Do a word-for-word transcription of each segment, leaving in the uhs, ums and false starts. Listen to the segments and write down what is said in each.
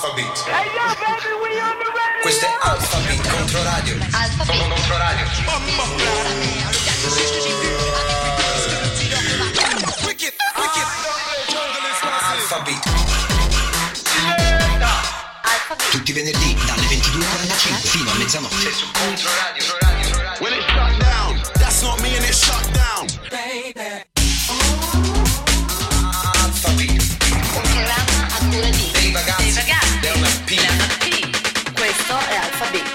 Alphabet. Hey yo, baby, we on the radio. Questo è Alphabet Controradio. Alphabet Controradio. Wicked, wicked. Alphabet. Alphabet. Tutti i venerdì dalle ventidue e quarantacinque fino a mezzanotte su Controradio. When it shut down, that's not me and it shut down. Baby. Dei ragazzi, dei ragazzi della P. Della P. Questo è Alphabet.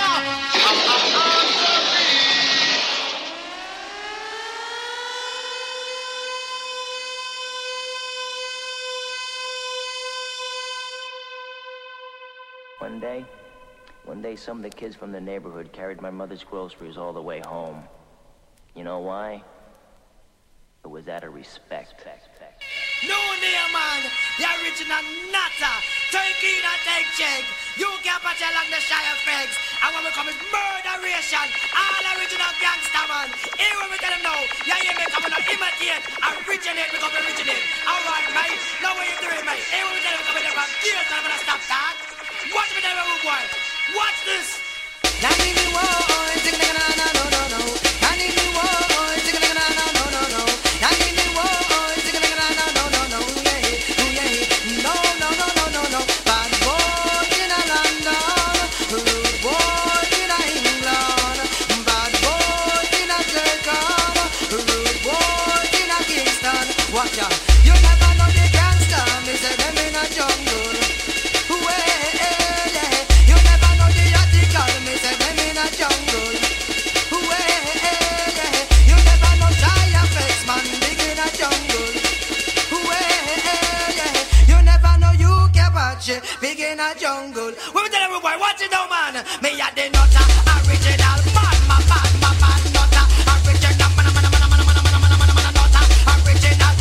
One day, one day some of the kids from the neighborhood carried my mother's groceries all the way home. You know why? It was out of respect. No dear man, the original nutter. Take in and take check. You can't patch along the shy effects. And when we come is murderation. All original gangster man. Here when we tell them no. Yeah, yeah, me coming to imitate. Originate, we come to originate. Alright, mate. Now what you doing, mate? Here when we tell them coming there from gears, I'm gonna stop that. Watch me tell them, boy. Watch this. Now need me one, take it, no, no, no, no, no. I need me one, take it, no, no, no, no, no. I need me one. Watch out, you never know the gangster, me say them in a jungle. Well, yeah. You never know the article, me say them in a jungle. Well, yeah. You never know shy effects, man, big in a jungle. Well, yeah. You never know you can watch it, big in a jungle. We tell everybody, watch it now, man. Me a the nutter, original man, my man, my man, nutter, original man, man, man, man, man, man, man, man, man, man, nutter, original.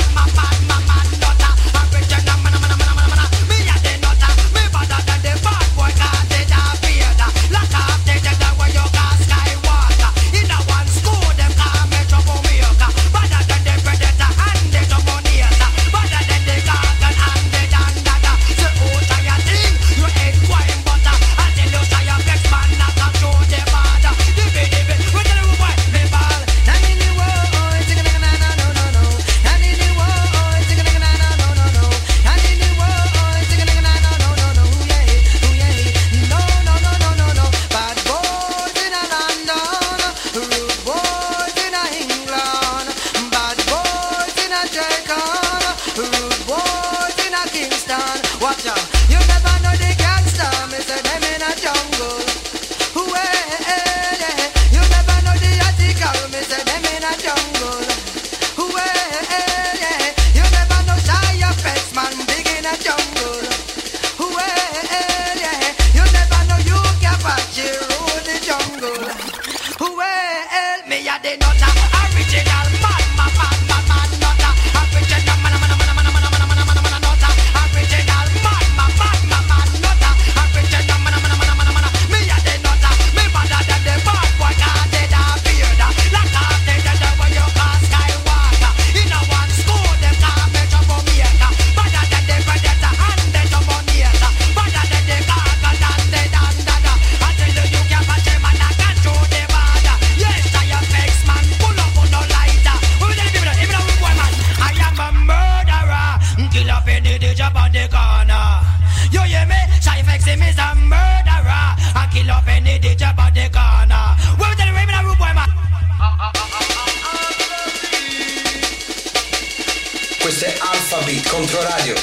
Questo è Alphabet Controradio.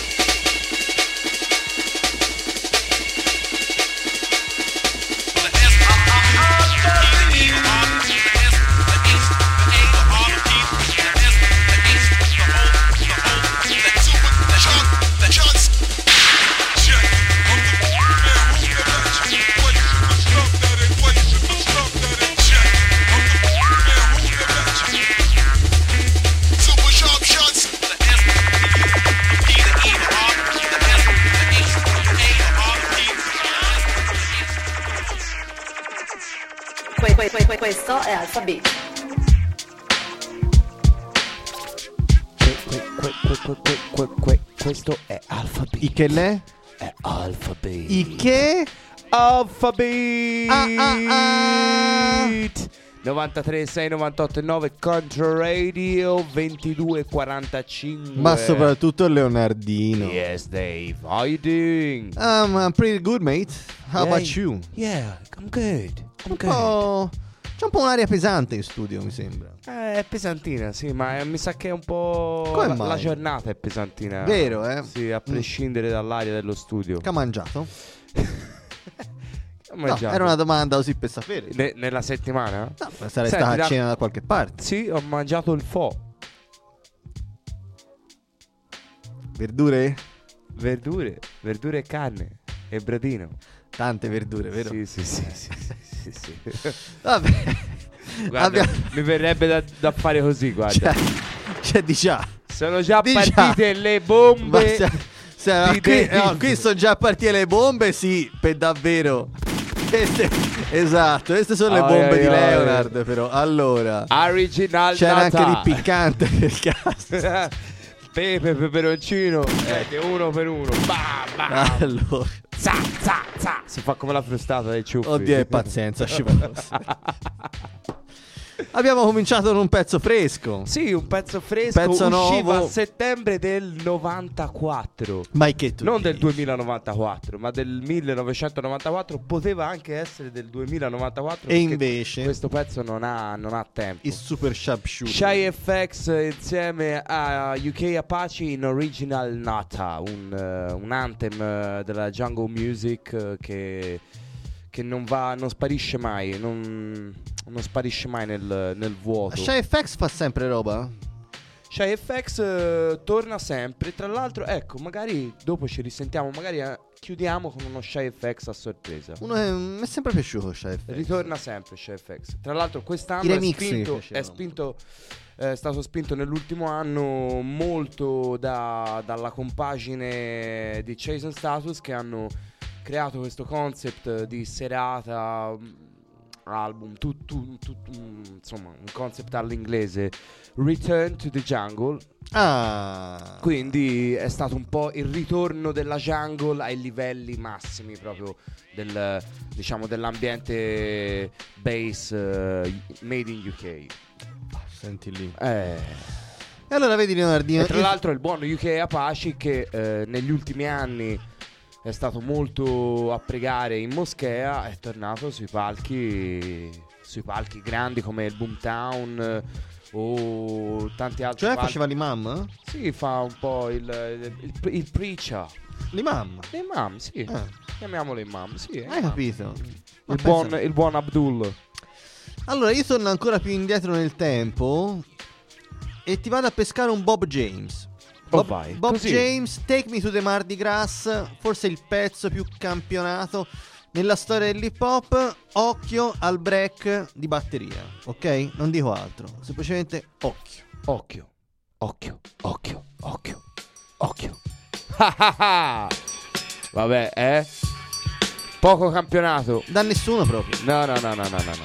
Questo è Alphabet. Questo è Alphabet. ¿Y qué le? è Alphabet. Il che? Alphabet. Ah, ah, ah. novantatré sei novantotto nove Controradio ventidue quarantacinque. Ma soprattutto Leonardino. Yes, Dave. How you doing? Um, I'm pretty good, mate. How Yeah, about you? Yeah, I'm good. I'm Un good. po'... C'è un po' un'aria pesante in studio, mi sembra. Eh, è pesantina, sì, ma eh, mi sa che è un po'... Come la, mai? la giornata è pesantina. Vero, eh? Sì, a prescindere dall'aria dello studio. Che ha mangiato? Ho No, mangiato. era una domanda così per sapere. Ne- nella settimana? No, sarei Senti, stata a da- cena da qualche parte. Sì, ho mangiato il pho. Verdure? Verdure, verdure e carne e bradino. Tante verdure, vero? Sì, sì, sì, sì, sì, sì, sì. Vabbè. Guarda, Abbiamo- mi verrebbe da, da fare così, guarda. C'è, c'è di già. Sono già di già. partite le Ma bombe. se- se- di qui, Dave. no, qui sono già partite le bombe, sì, per davvero. Queste, esatto, queste sono le Ai, bombe ai, di ai. Leonard, però. Allora, Original c'era anche Nata. di piccante per caso. Pepe, peperoncino. Eh, uno per uno. Bam, bam. Allora, Za, za, za. Si fa come la frustata dei ciuffi. oddio, e pazienza, scivoloso. Abbiamo cominciato con un pezzo fresco. Sì, un pezzo fresco. Pezzo usciva nuovo. a settembre del novantaquattro. Ma che tu Non dici? del duemilanovantaquattro, ma del millenovecentonovantaquattro. Poteva anche essere del duemilanovantaquattro. E perché invece questo pezzo non ha, non ha tempo. il super sharpshooter. Shy F X insieme a U K Apache in Original Nata, un, eh, un anthem eh, della jungle music eh, che, che non va, non sparisce mai, non, non sparisce mai nel, nel vuoto. Shy F X fa sempre roba? Shy F X eh, torna sempre. Tra l'altro, ecco, magari dopo ci risentiamo, magari eh, chiudiamo con uno Shy F X a sorpresa. Uno è, mi è sempre piaciuto Shy F X. Ritorna sempre Shy F X. Tra l'altro I quest'anno è remix mi spinto, piacevano. è spinto è stato spinto nell'ultimo anno molto da- dalla compagine di Chase and Status, che hanno creato questo concept di serata, mh, album, tu- tu- tu- mh, insomma un concept all'inglese, Return to the Jungle. Ah, Quindi è stato un po' il ritorno della jungle ai livelli massimi proprio del, diciamo, dell'ambiente bass eh, made in U K. senti lì. Eh, E allora vedi Leonardino, e tra io- l'altro il buon U K Apache che eh, negli ultimi anni è stato molto a pregare in moschea, è tornato sui palchi sui palchi grandi come il Boomtown eh, o tanti altri cioè palchi. faceva l'imam? Sì, fa un po' il, il, il, il preacher. L'imam? L'imam, sì. Ah. Chiamiamolo imam, sì. è Hai imam. capito? Ma Il pensa- buon, il buon Abdul. Allora io torno ancora più indietro nel tempo e ti vado a pescare un Bob James. Oh, Bob, vai, Bob così. James, Take Me to the Mardi Gras, forse il pezzo più campionato nella storia dell'hip hop. Occhio al break di batteria, ok? Non dico altro, semplicemente occhio. Occhio, occhio, occhio, occhio, occhio. Vabbè, eh? Poco campionato. Da nessuno proprio. No, no, no, no, no, no, no.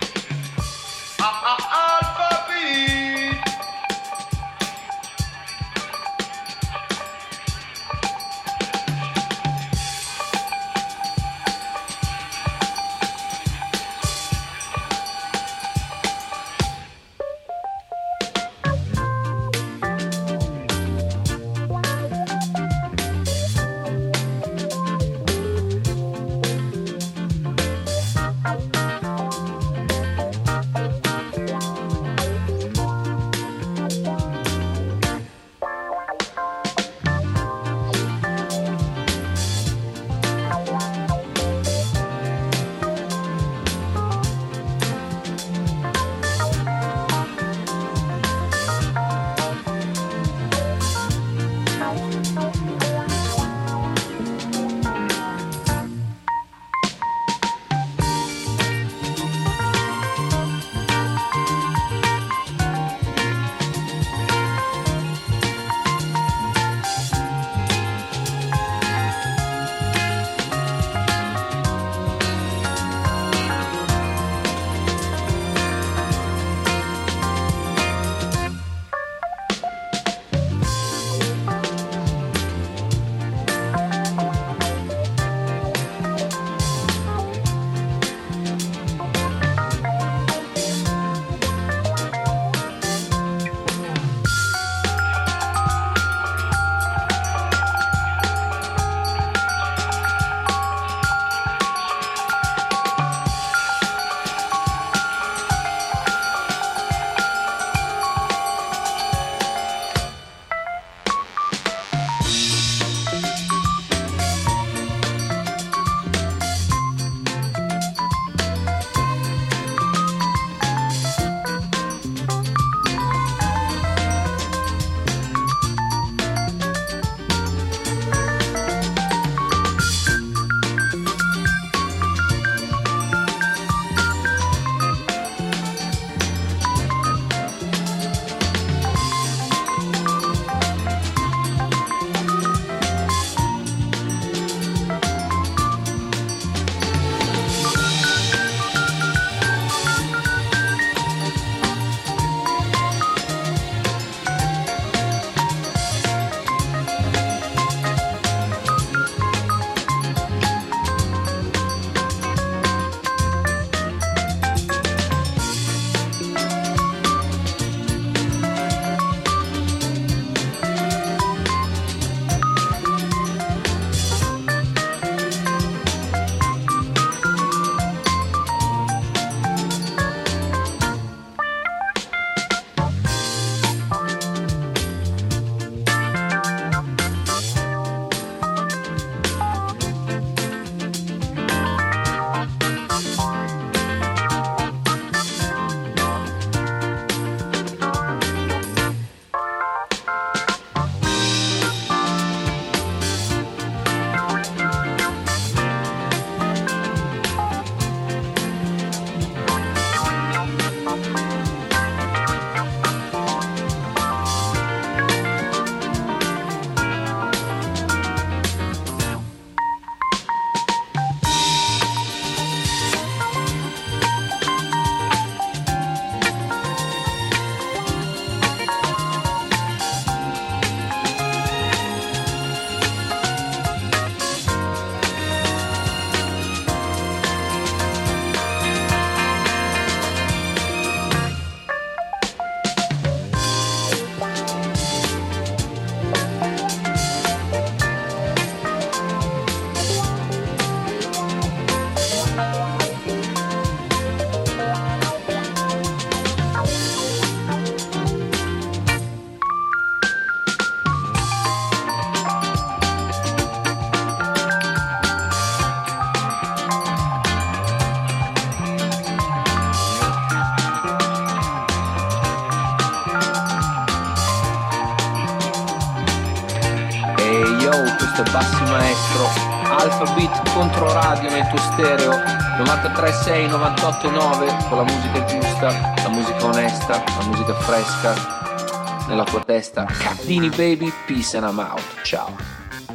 Yo, questo è Bassi Maestro, Alphabet Controradio nel tuo stereo, novantatré sei, novantotto nove, con la musica giusta, la musica onesta, la musica fresca, nella tua testa. Cardini baby, peace and I'm out, ciao.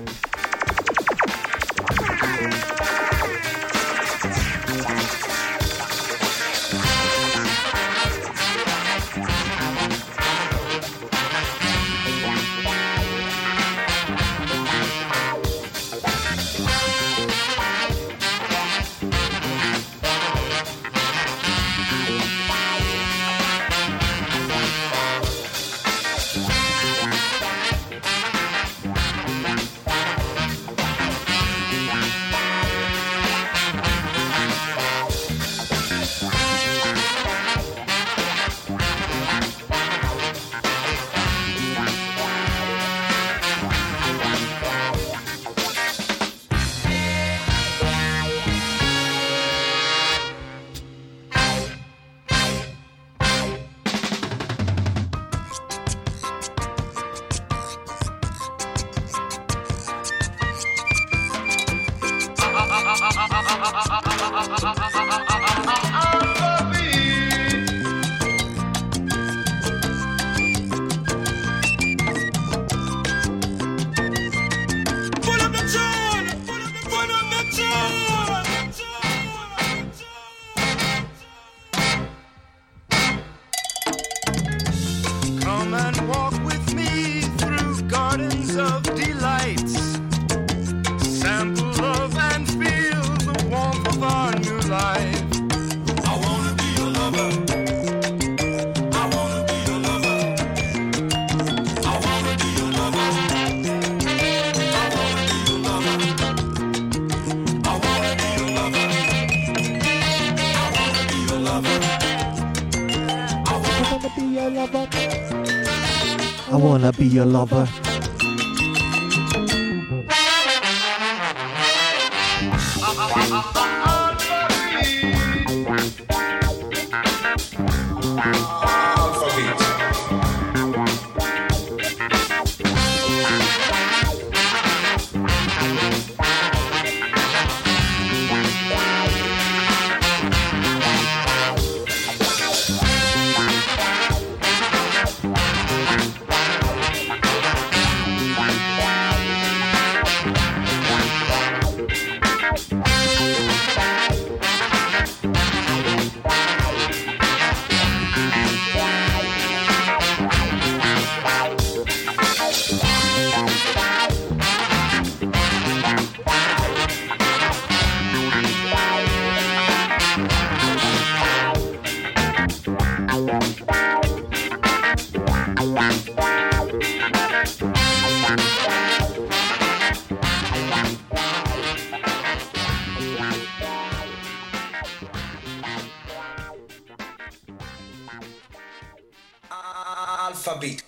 I wanna be your lover. Alphabet.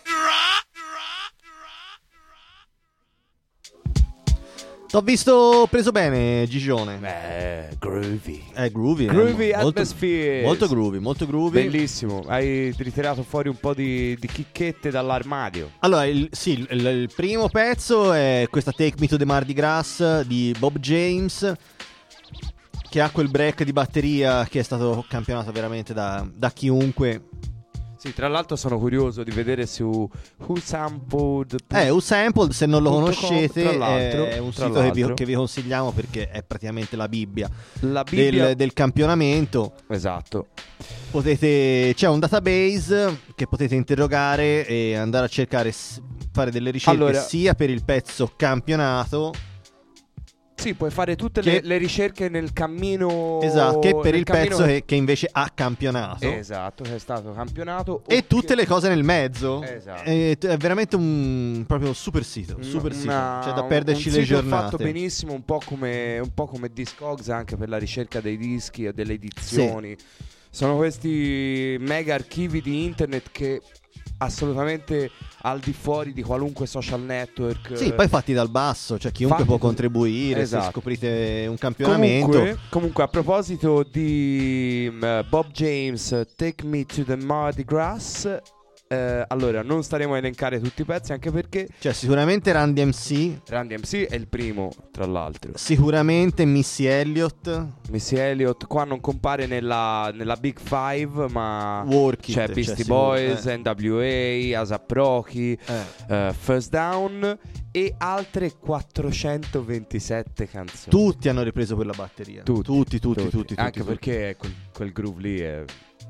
T'ho visto preso bene, Gigione. Beh, groovy. È groovy. Groovy eh, molto, atmosphere. molto groovy, molto groovy. Bellissimo. Hai ritirato fuori un po' di, di chicchette dall'armadio. Allora, il, sì, il, il primo pezzo è questa Take Me to the Mardi Gras di Bob James, che ha quel break di batteria che è stato campionato veramente da, da chiunque. Sì, tra l'altro sono curioso di vedere su Who Sampled. Eh, U-Sampled, se non lo punto com, conoscete, tra l'altro, è un tra sito che vi, l'altro. che vi consigliamo perché è praticamente la Bibbia, La Bibbia del, del campionamento. Esatto. Potete, c'è un database che potete interrogare e andare a cercare, s- fare delle ricerche Allora- sia per il pezzo campionato, Sì, puoi fare tutte Che- le, le ricerche nel cammino. esatto, che per nel il cammino- pezzo che, che invece ha campionato. Esatto, che è stato campionato. E o tutte che- le cose nel mezzo. Esatto. È, è veramente un proprio super sito, super Una- sito. C'è da perderci un le sito giornate. fatto benissimo, un po' come un po' come Discogs, anche per la ricerca dei dischi e delle edizioni. Sono questi mega archivi di internet che assolutamente al di fuori di qualunque social network. Sì, poi fatti dal basso, cioè chiunque Fatti può tu- contribuire. Esatto. Se scoprite un campionamento. Comunque, comunque, a proposito di mm, Bob James, Take Me to the Mardi Gras, Eh, allora, non staremo a elencare tutti i pezzi, anche perché Cioè sicuramente Run D M C, Run D M C è il primo, tra l'altro. sicuramente Missy Elliott, Missy Elliott qua non compare nella, nella Big Five, ma Work It, c'è cioè, Beastie sicuro, Boys, eh. N W A, A$ap Rocky, Eh. eh, First Down e altre quattrocentoventisette canzoni. Tutti hanno ripreso quella batteria. Tutti, tutti, tutti, tutti, tutti, Anche tutti. perché quel, quel groove lì è...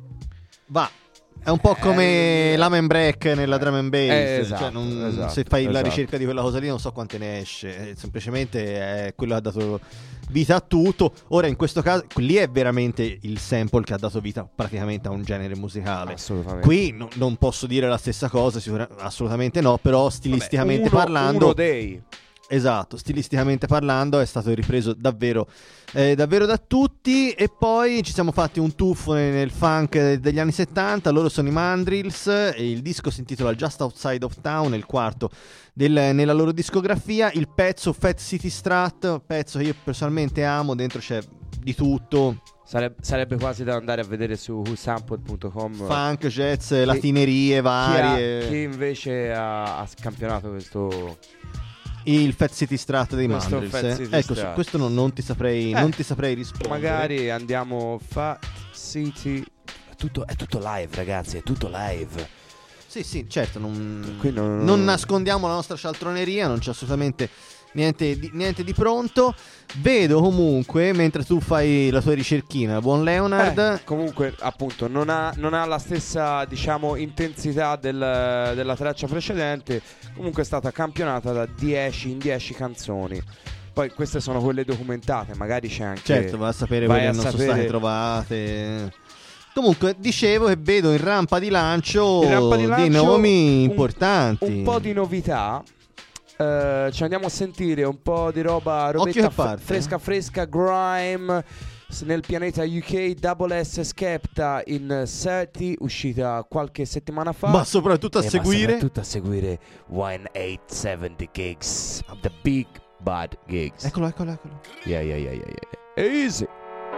Va. È un po' come Eh, l'Am and Break nella drum and bass. eh, esatto, cioè non- esatto, se fai la esatto. ricerca di quella cosa lì non so quante ne esce. eh, Semplicemente è quello che ha dato vita a tutto. Ora in questo caso lì è veramente il sample che ha dato vita praticamente a un genere musicale. Assolutamente. Qui no- non posso dire la stessa cosa, sicura- assolutamente no. Però stilisticamente Vabbè, uno- parlando uno dei... Esatto, stilisticamente parlando è stato ripreso davvero, eh, davvero da tutti. E poi ci siamo fatti un tuffo nel, nel funk degli anni settanta. Loro sono i Mandrills e il disco si intitola Just Outside of Town, è il quarto del- nella loro discografia. Il pezzo Fat City Strat, pezzo che io personalmente amo, dentro c'è di tutto, Sareb- sarebbe quasi da andare a vedere su who sampled punto com funk, jazz, latinerie chi, ha- varie. chi invece ha, ha scampionato questo... Il Fat City Strat dei Questo Mandrills, Fat eh. City Ecco, Strat. su questo non, non ti saprei, Eh, non ti saprei rispondere. Magari andiamo Fat City... È tutto, è tutto live, ragazzi, è tutto live. Sì, sì, certo, non, Qui non- non nascondiamo la nostra cialtroneria, non c'è assolutamente niente di, niente di pronto. Vedo comunque, mentre tu fai la tua ricerchina, buon Leonard, Eh, comunque, appunto, non ha, non ha la stessa, diciamo, intensità del- della traccia precedente. Comunque è stata campionata da dieci in dieci canzoni. Poi queste sono quelle documentate, magari c'è anche... certo, va a sapere vai quelle a che non sono sapere- state trovate. Comunque, dicevo che vedo in rampa di lancio, In rampa di dei lancio nomi un- importanti. Un po' di novità. Eh, ci andiamo a sentire un po' di roba, Occhio robetta che parte, f- fresca fresca, grime s- nel pianeta U K. Double S Skepta in thirty, uscita qualche settimana fa. Ma soprattutto a Eh, ma seguire soprattutto a seguire eighteen seventy Gigs, The Big Bad Gigs. Eccolo, eccolo, eccolo. Yeah, yeah, yeah, yeah, yeah. Easy.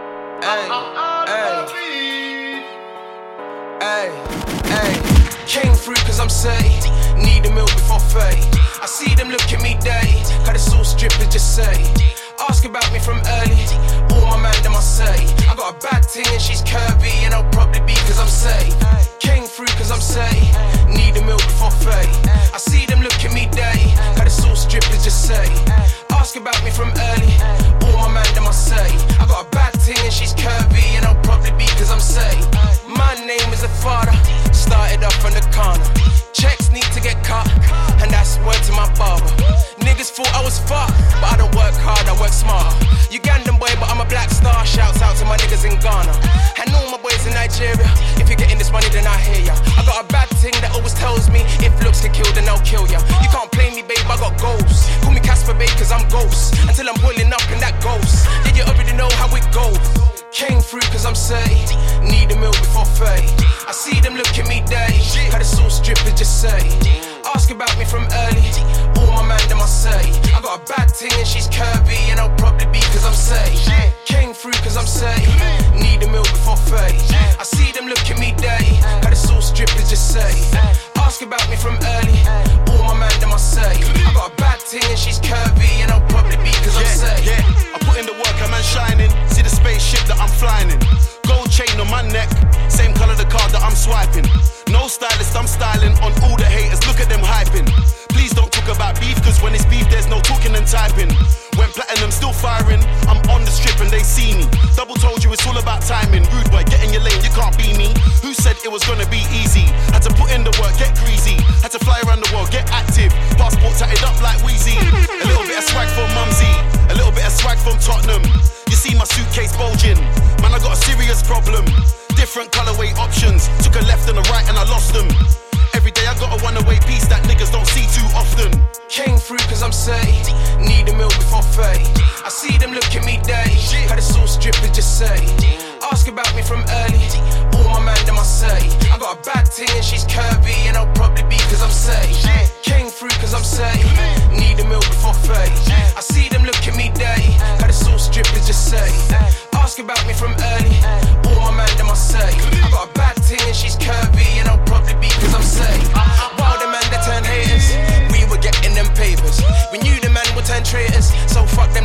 Hey, hey, came through cause I'm saved. Need a meal before fade. I see them look at me day. How the sauce drippers just say. Ask about me from early. All my man them I say. I got a bad thing and she's curvy. And I'll probably be cause I'm saved. Came through cause I'm saved. Need a meal before fade. I see them look at me day. How the sauce drippers just say. Ask about me from early. All my man them I say. I got a bad thing and she's curvy. And I'll probably be cause I'm saved. My name is a father. Started up on the corner. Checks need to get cut. And that's word to my barber. Niggas thought I was fucked, but I don't work hard, I work smart. Ugandan boy, but I'm a black star. Shouts out to my niggas in Ghana. And all my boys in Nigeria. If you're getting this money, then I hear ya. I got a bad thing that always tells me if looks can kill, then I'll kill ya. You can't play me, babe, I got goals. Call me Casper, babe, cause I'm ghost. Until I'm boiling up in that ghost. Yeah, you already know how it goes. Came through cause I'm saved. Need a meal before fade. I see them look at me day. How the sauce drippers just say. Ask about me from early. All my man them I say. I got a bad thing and she's curvy. And I'll probably be cause I'm saved. Came through cause I'm saved. Need a meal before fade. I see them look at me day. How the sauce drippers just say. Ask about me from early. All my man them I say. I got a bad thing and she's curvy. And I'll probably be cause I'm saved. Yeah, I put in the work, I'm shining. See the spaceship that I'm flying in. Gold chain on my neck, same color the card that I'm swiping. No stylist, I'm styling on all the haters. Look at them hyping. Please don't talk about beef, cause when it's beef, there's no talking and typing. When platinum still firing, I'm on the strip and they see me. Double told you it's all about timing. Rude boy, get in your lane, you can't be me. Who said it was gonna be easy? Had to put in the work, get greasy. Had to fly around the world, get active. Passport tatted up like Wheezy. A little bit of swag from Mumsy, a little bit of swag from Tottenham. You see my suitcase bulging, man, I got a serious problem. Different colorway options, took a left and a right and I lost them. Every day I got a one-away piece that niggas don't see too often. Came through cause I'm saved. Need a meal before fade. I see them look at me day. How the sauce drippers just say. Ask about me from early. All my man them I say. I got a bad thing and she's curvy. And I'll probably be cause I'm saved. Came through cause I'm saved. Need a meal before fade. I see them look at me day. How the sauce drippers just say. Ask about me from early. All my man them I say. I got a bad thing and she's curvy. And I'll probably be cause I'm saved.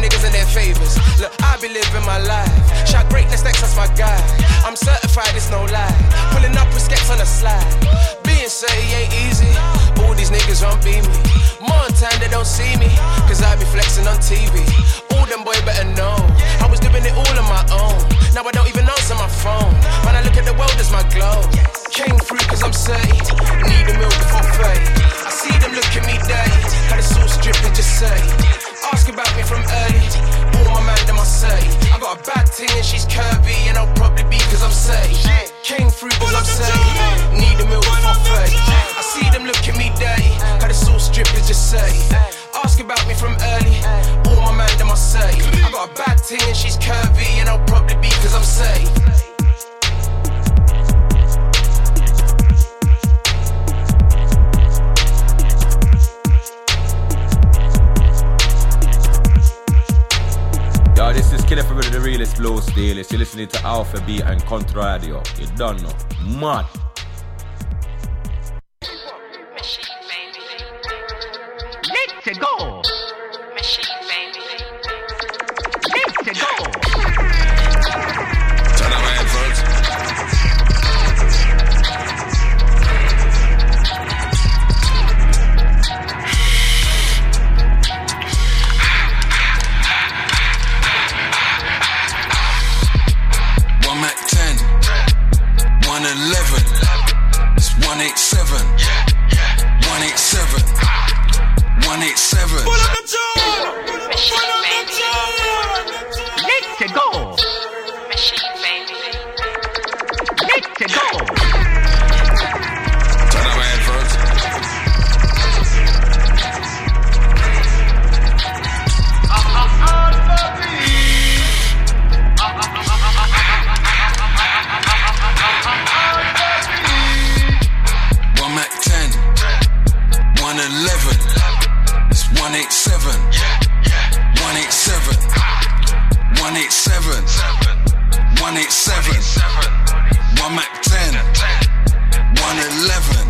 niggas and their favors. Look, I be living my life. Shout greatness, next, that's my guy. I'm certified, it's no lie. Pulling up with skets on the slide. Being say ain't easy. All these niggas won't be me. More time they don't see me, cause I be flexing on T V. All them boy better know I was doing it all on my own. Now I don't even answer my phone. When I look at the world as my glow. Came through cause I'm saved. Need a meal before fate. I see them look at me day. How the sauce dripping just say. Ask about me from early. All my man them I say. I got a bad ting and she's curvy. And I'll probably be cause I'm saved. Came through cause I'm saved. Need a meal before fate. I see them look at me day. How the sauce dripping just say. Ask about me from early. All my man them I say. I got a bad ting and she's curvy. And I'll probably be cause I'm saved. Yo, this is Killer from the realest flow stylist. You're listening to Alpha Beat and Contra Radio. You don't know. Mad. Let's go. Machine baby. Let's go. Turn on my headphones. One Mac ten, one eleven, it's one eighty-seven, one eighty-seven, one eighty-seven. Pull up the door! Pull up the door! Let's go! Machine baby. Let's go! Turn on my headphones. One Mac ten, one eleven, it's one eighty-seven, one eighty-seven, one eighty-seven, one eighty-seven, one Mac ten, one eleven.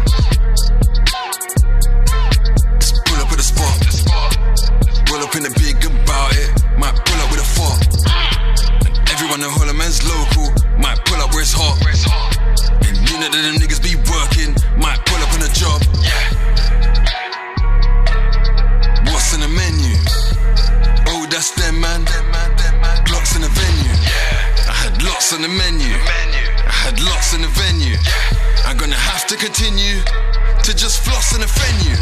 Just pull up at the spot, roll up in the big about it, might pull up with a fork. Everyone in Holloman's local, might pull up where it's hot. And you know that them niggas be working, might pull up on a job. What's in the menu? Oh, that's them, man. Glocks in the venue. I had lots on the menu. I had lots in the venue. I'm gonna have to continue to just floss in the venue.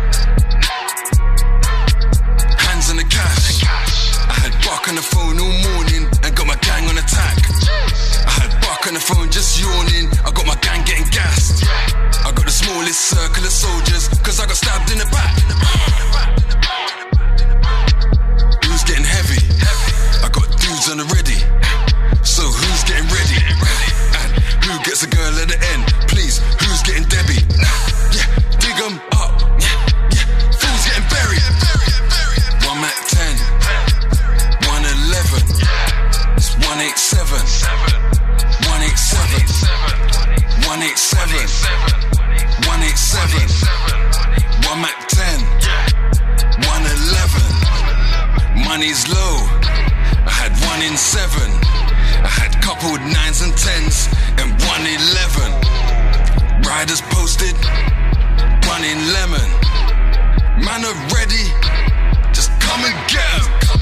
Hands on the cash. I had Buck on the phone all morning and got my gang on attack. I had Buck on the phone just yawning. I got my gang getting gassed. I got the smallest circle of soldiers cause I got stabbed in the back. Who's getting heavy? I got dudes on the ready. So who's getting ready? And who gets a girl at the end? Please, who's getting Debbie? Yeah, dig 'em up. Yeah, yeah, fools getting buried. One Mac ten, one eleven, it's one eighty-seven, one eighty-seven, one eighty-seven, one eighty-seven, one Mac ten, one eleven. Money's low, I had one in seven. I had coupled nines and tens and one eleven. Riders posted, one in lemon. Man are ready, just come and get 'em.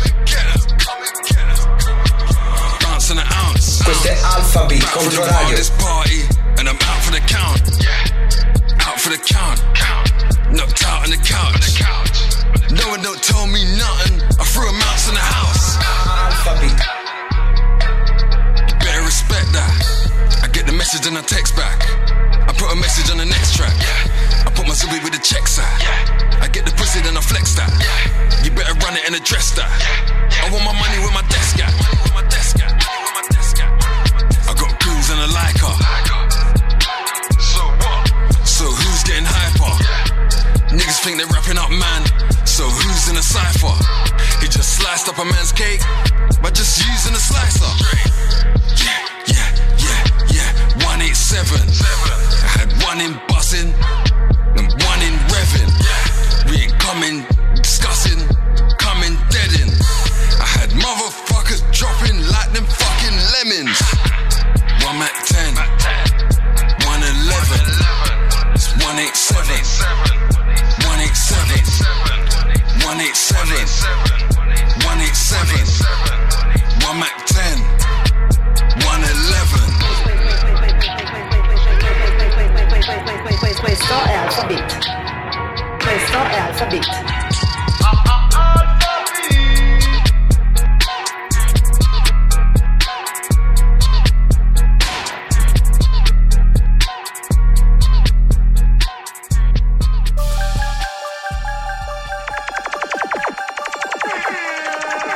Dance an ounce. Questo è Alpha Beat Contro Radio. This party and I'm out for the count. Out for the count. Knocked out on the couch. No one don't tell me nothing. I threw a mouse in the house. Alpha Beat. Better respect that. I get the message and I text back. I put a message on the next track. I put my Zubi with the checks out. I get the pussy then I flex that. You better run it and address that. I want my money with my desk at. I got goons and a liker. So who's getting hyper? Niggas think they're wrapping up, man. So who's in a cypher? He just sliced up a man's cake by just using a slicer. Yeah, yeah, yeah, yeah. one eighty-seven. I had one in bussing and one in revving. We ain't coming discussing, coming dead in. I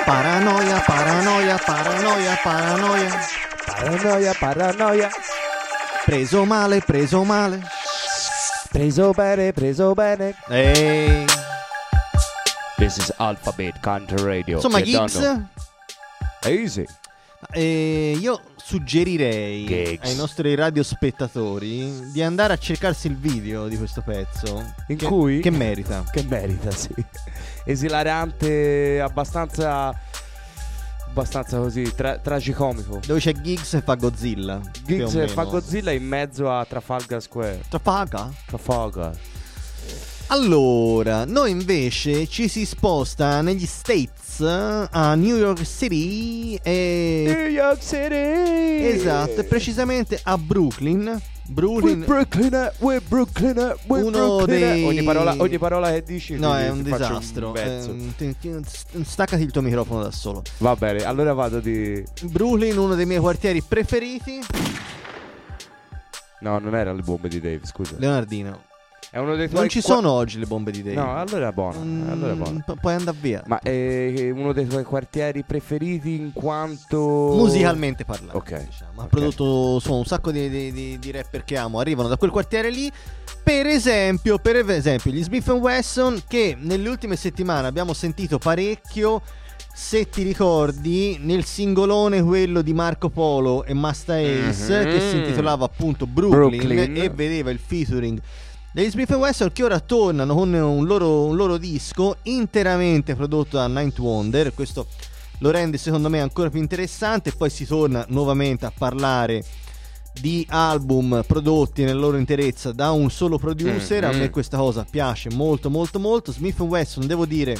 Paranoia, paranoia, paranoia, paranoia. Paranoia, paranoia. Preso male, preso male. Preso bene, preso bene. Ehi. This is Alphabet Country Radio. Insomma, You don't Gigs, know. Easy. eh, io suggerirei Gigs. ai nostri radiospettatori di andare a cercarsi il video di questo pezzo. In che, cui? Che merita. Che merita, sì. Esilarante, abbastanza... Abbastanza così, tra- tragicomico. Dove c'è Giggs e fa Godzilla. più o Giggs meno. fa Godzilla in mezzo a Trafalgar Square. Trafalgar? Trafalgar. Allora, noi invece ci si sposta negli States, a New York City e... New York City! Esatto, precisamente a Brooklyn. Brooklyn, We're Brooklyn, uh, we're Brooklyn, uh, we're Uno Brooklyn. dei- Ogni parola, ogni parola che dici no, ti- è un ti faccio disastro. un pezzo. Ehm, ti- ti- staccati il tuo microfono da solo. Va bene, allora vado di... Brooklyn, uno dei miei quartieri preferiti. No, non era le bombe di Dave, scusa. Leonardino. È uno dei tuoi Non ci qua- sono oggi le bombe di Dave. No, allora è buono, Mm, allora è buono. pu- puoi andare via. Ma è uno dei tuoi quartieri preferiti in quanto... Musicalmente parlando, Ok. diciamo. Ha ok. prodotto su un sacco di, di- di- di rapper che amo. Arrivano da quel quartiere lì. Per esempio, per esempio, gli Smith and Wesson, che nelle ultime settimane abbiamo sentito parecchio. Se ti ricordi, nel singolone quello di Marco Polo e Masta Ace, Mhm. che si intitolava appunto Brooklyn, Brooklyn. e vedeva il featuring degli Smith and Wesson, che ora tornano con un loro, un loro disco interamente prodotto da Ninth Wonder. Questo lo rende secondo me ancora più interessante. Poi si torna nuovamente a parlare di album prodotti nella loro interezza da un solo producer. Mm-hmm. A me questa cosa piace molto molto molto. Smith and Wesson, devo dire,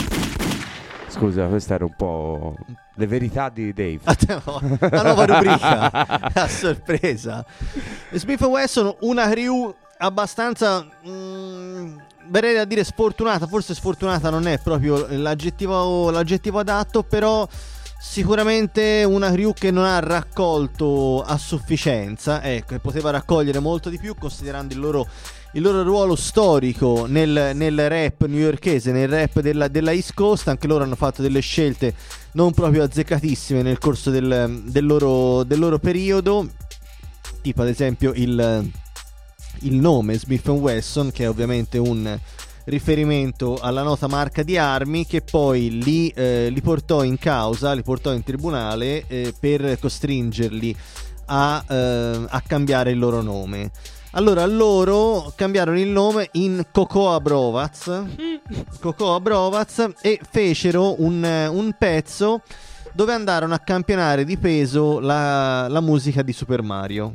Scusa, questa era un po' le verità di Dave. la nuova rubrica a sorpresa. Smith and Wesson, una crew abbastanza mm, verrei a dire sfortunata. Forse sfortunata non è proprio l'aggettivo, l'aggettivo adatto, però sicuramente una crew che non ha raccolto a sufficienza, ecco, e poteva raccogliere molto di più, considerando il loro, il loro ruolo storico nel, nel rap newyorkese, nel rap della, della East Coast. Anche loro hanno fatto delle scelte non proprio azzeccatissime nel corso del, del, loro, del loro periodo, tipo ad esempio il, il nome Smith and Wesson, che è ovviamente un riferimento alla nota marca di armi, che poi li, eh, li portò in causa, li portò in tribunale eh, per costringerli a, eh, a cambiare il loro nome. Allora loro cambiarono il nome in Cocoa Brovaz, Cocoa Brovaz, e fecero un, un pezzo dove andarono a campionare di peso la, la musica di Super Mario.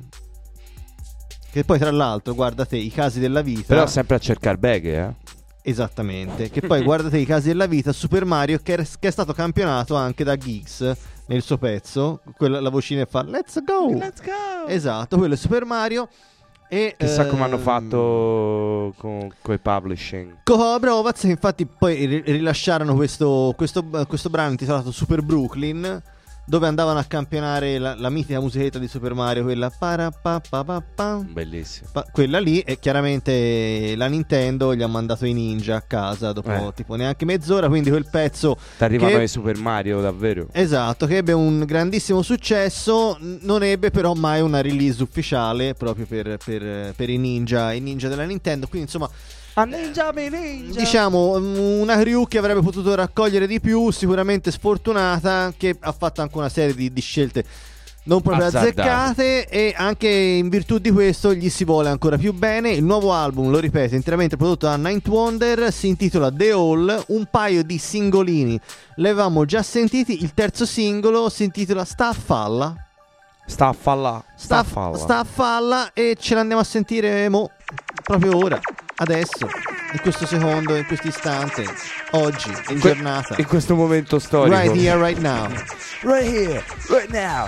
Che poi tra l'altro, guardate i casi della vita. Però sempre a cercare beghe, eh. Esattamente. Che poi guardate i casi della vita, Super Mario che, è- che è stato campionato anche da Giggs nel suo pezzo. Quella, la vocina fa Let's go. Let's go. Esatto, quello è Super Mario. E Chissà come hanno ehm, fatto con i publishing. Cocoa Brovaz, che infatti poi ri- rilasciarono questo, questo, questo brano intitolato Super Brooklyn, dove andavano a campionare la, la mitica musichetta di Super Mario, quella para pa pa pa pa. Bellissimo. Pa- quella lì, e chiaramente la Nintendo gli ha mandato i ninja a casa dopo Eh. tipo neanche mezz'ora, quindi quel pezzo Ti arrivano che- i Super Mario, davvero. esatto, che ebbe un grandissimo successo, n- non ebbe però mai una release ufficiale proprio per, per- per i ninja, i ninja della Nintendo, quindi insomma A ninja, mi ninja. diciamo mm, una crew che avrebbe potuto raccogliere di più, sicuramente sfortunata, che ha fatto anche una serie di, di scelte non proprio Azzardate. azzeccate, e anche in virtù di questo gli si vuole ancora più bene. Il nuovo album, lo ripeto, interamente prodotto da Ninth Wonder, si intitola The All. Un paio di singolini li avevamo già sentiti, il terzo singolo si intitola Sta a falla. Sta a falla. Sta, a falla. sta a falla, e ce l'andiamo a sentire mo, proprio ora, adesso, in questo secondo, in questo istante, oggi, in Que- giornata, In questo momento storico. right here, right now. Right here, right now.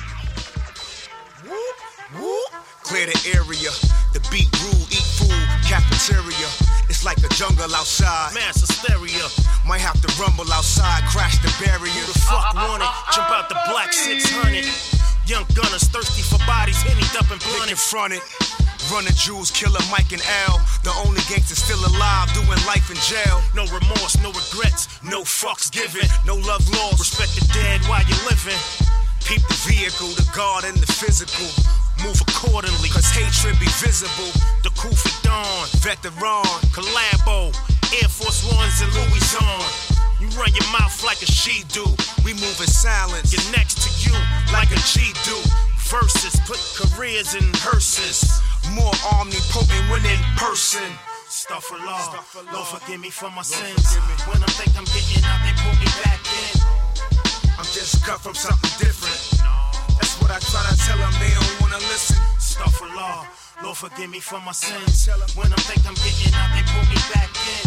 Clear the area, the beat rule, eat food, cafeteria. It's like a jungle outside, mass hysteria. Might have to rumble outside, crash the barrier. Who the fuck want it? Jump out the black six hundred. Young gunners thirsty for bodies, hennied up and blunted. Front it. Running Jews, killer Mike and L. The only gangster still alive, doing life in jail. No remorse, no regrets, no fucks given. No love lost, respect the dead while you're living. Keep the vehicle, the guard and the physical. Move accordingly, cause hatred be visible. The Kufi Dawn, veteran, Collabo, Air Force Ones and Louis on. You run your mouth like a she do. We move in silence. Get next to you like a G do. Verses, put careers in hearses. More omnipotent when in person. Astaghfirullah, Lord forgive me for my sins. When I think I'm getting out, they pull me back in. I'm just cut from something different. That's what I try to tell them, they don't wanna listen. Astaghfirullah, Lord forgive me for my sins. When I think I'm getting out, they pull me back in.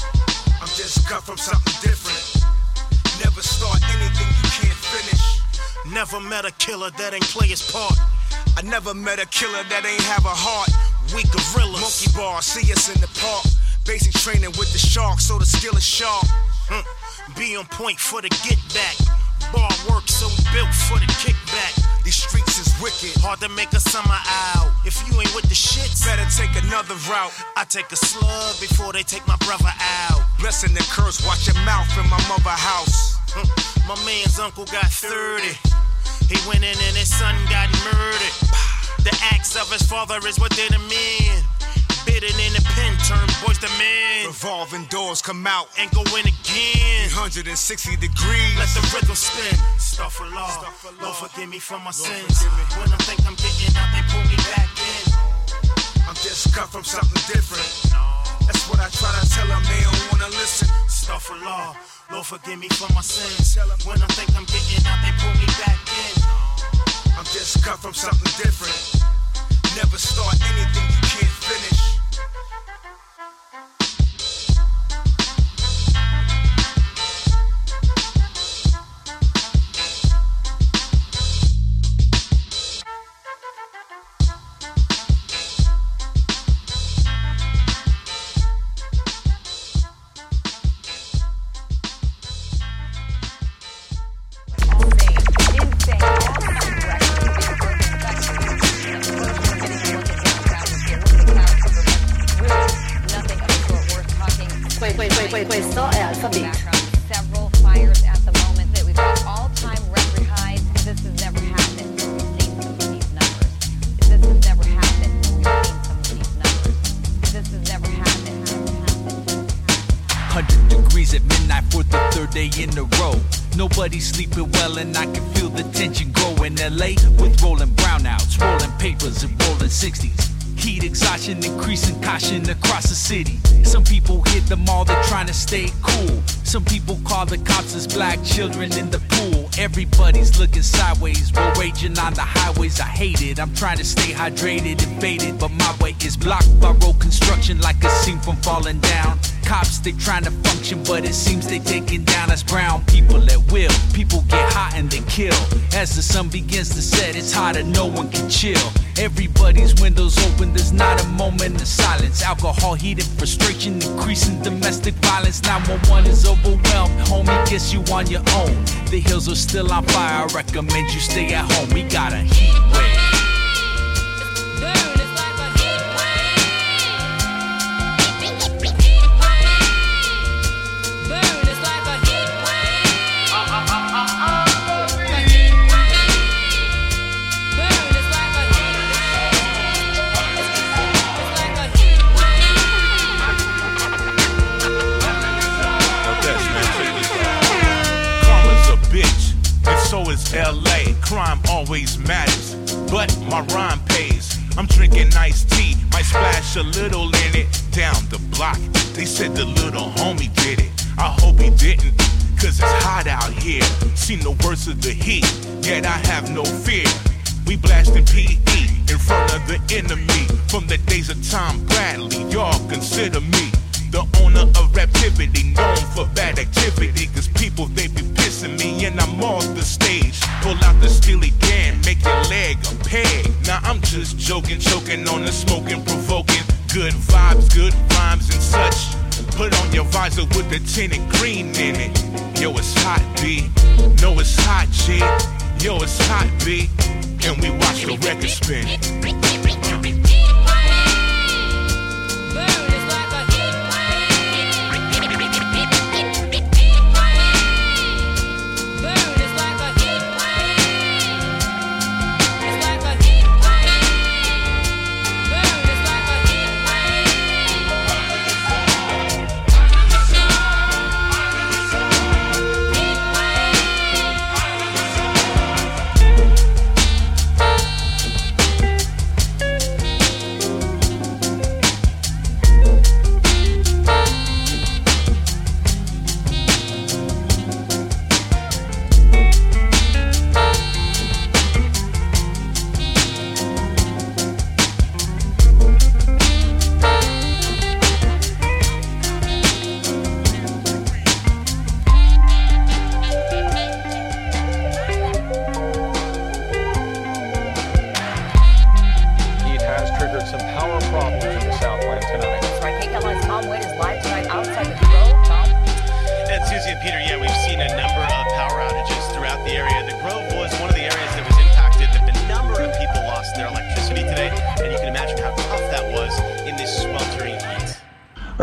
I'm just cut from something different. Never start anything you can't finish. Never met a killer that ain't play his part. I never met a killer that ain't have a heart. We gorillas. Monkey bar, see us in the park. Basic training with the sharks, so the skill is sharp. Mm. Be on point for the get back. Bar work, so built for the kickback. These streets is wicked. Hard to make a summer out. If you ain't with the shits, better take another route. I take a slug before they take my brother out. Blessing and curse, watch your mouth in my mother house. Mm. My man's uncle got thirty. He went in and his son got murdered. The acts of his father is what did him in. Bitten in the pen, turn boys to men. Revolving doors come out and go in again. three hundred sixty degrees. Let the rhythm spin. Astaghfirullah, Lord forgive me for my sins. When I think I'm getting out, they pull me back in. I'm just cut from something different. That's what I try to tell them, they don't wanna listen. Astaghfirullah, Lord forgive me for my sins. When I think I'm getting out, they pull me back in. I'm just cut from something different. Never start anything you can't finish. Questo è Alpha Beat. Several fires at the moment that we've got all-time record highs. This has never happened. We've seen some of these numbers. This has never happened. We've seen some of these numbers. This has never happened. one hundred degrees at midnight for the third day in a row. Nobody's sleeping well and I can feel the tension grow in L A with rolling brownouts, rolling papers and rolling sixties. Heat exhaustion, increasing caution across the city. Some people hit the mall, they're trying to stay cool. Some people call the cops as black children in the pool. Everybody's looking sideways, we're raging on the highways. I hate it, I'm trying to stay hydrated and faded, but my way is blocked by road construction like a scene from Falling Down. Cops, they trying to function, but it seems they taking down us brown people at will. People get hot and they kill. As the sun begins to set, it's hotter, no one can chill. Everybody's windows open, there's not a moment of silence. Alcohol, heat, and frustration, increasing domestic violence. nine one one is overwhelmed, homie, guess you on your own. The hills are still on fire, I recommend you stay at home. We got a heat wave. So is L A, crime always matters, but my rhyme pays. I'm drinking iced tea, might splash a little in it. Down the block, they said the little homie did it. I hope he didn't, cause it's hot out here. See no worse of the heat, yet I have no fear. We blasting P E in front of the enemy. From the days of Tom Bradley, y'all consider me the owner of Raptivity, known for bad activity. Cause people, they be pissing me and I'm off the stage. Pull out the steely can, make your leg a peg. Now I'm just joking, choking on the smoking, provoking. Good vibes, good rhymes and such. Put on your visor with the tinted green in it. Yo, it's hot, B. No, it's hot, G. Yo, it's hot, B. And we watch the record spin.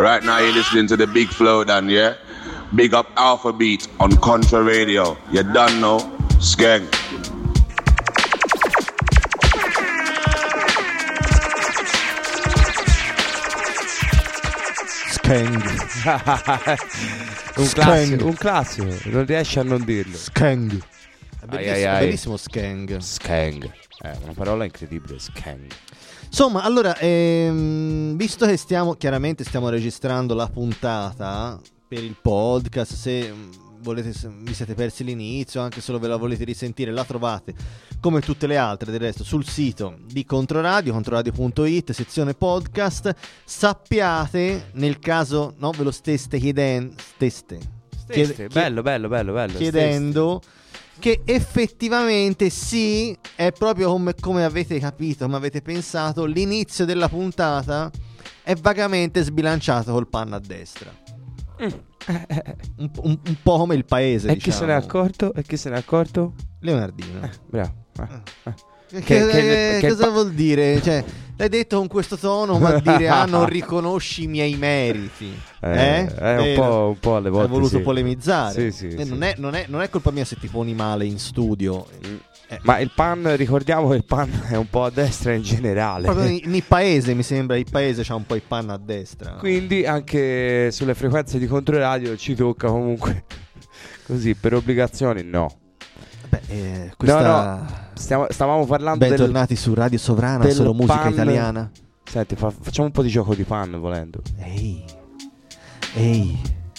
Right now you're listening to the Big Flow Dan, yeah? Big up Alpha Beat on Contra Radio. You done know? Skeng. Skeng. un, classico, un classico, non riesci a non dirlo. Skeng. È bellissimo, Ai, ai, ai. bellissimo Skeng. Skeng. Eh, una parola incredibile, Skeng. Insomma, allora, ehm, visto che stiamo, chiaramente stiamo registrando la puntata per il podcast, se volete, se vi siete persi l'inizio, anche se ve la volete risentire, la trovate come tutte le altre del resto sul sito di Controradio, controradio punto it, sezione podcast. Sappiate, nel caso no, ve lo steste chiedendo, steste, Steste, chied- bello, bello, bello, bello. chiedendo che effettivamente sì, è proprio come, come avete capito, come avete pensato, l'inizio della puntata è vagamente sbilanciato col panno a destra. Mm. Un, un, un po' come il paese, E diciamo. chi se n'è accorto? E chi se n'è accorto? Leonardino. Eh, bravo. Eh, eh. Che, Che- che- che- che cosa pa- vuol dire? Cioè, l'hai detto con questo tono, ma dire ah, non riconosci i miei meriti. Eh, Eh? eh, un Eh, po', un po' alle volte Hai voluto sì. polemizzare. Sì, sì, Eh, sì. Non, è, non, è, non è colpa mia se ti poni male in studio. Eh, Ma il pan, ricordiamo che il pan è un po' a destra in generale. proprio in- in paese, mi sembra, il paese c'ha un po' il panno a destra. Quindi anche sulle frequenze di Controradio ci tocca comunque così, per obbligazioni no. Beh, eh, questa... No, no, stiamo- stavamo parlando del, Bentornati su Radio Sovrana, del solo musica pan. italiana. Senti, fa- facciamo un po' di gioco di pan volendo. Ehi, ehi,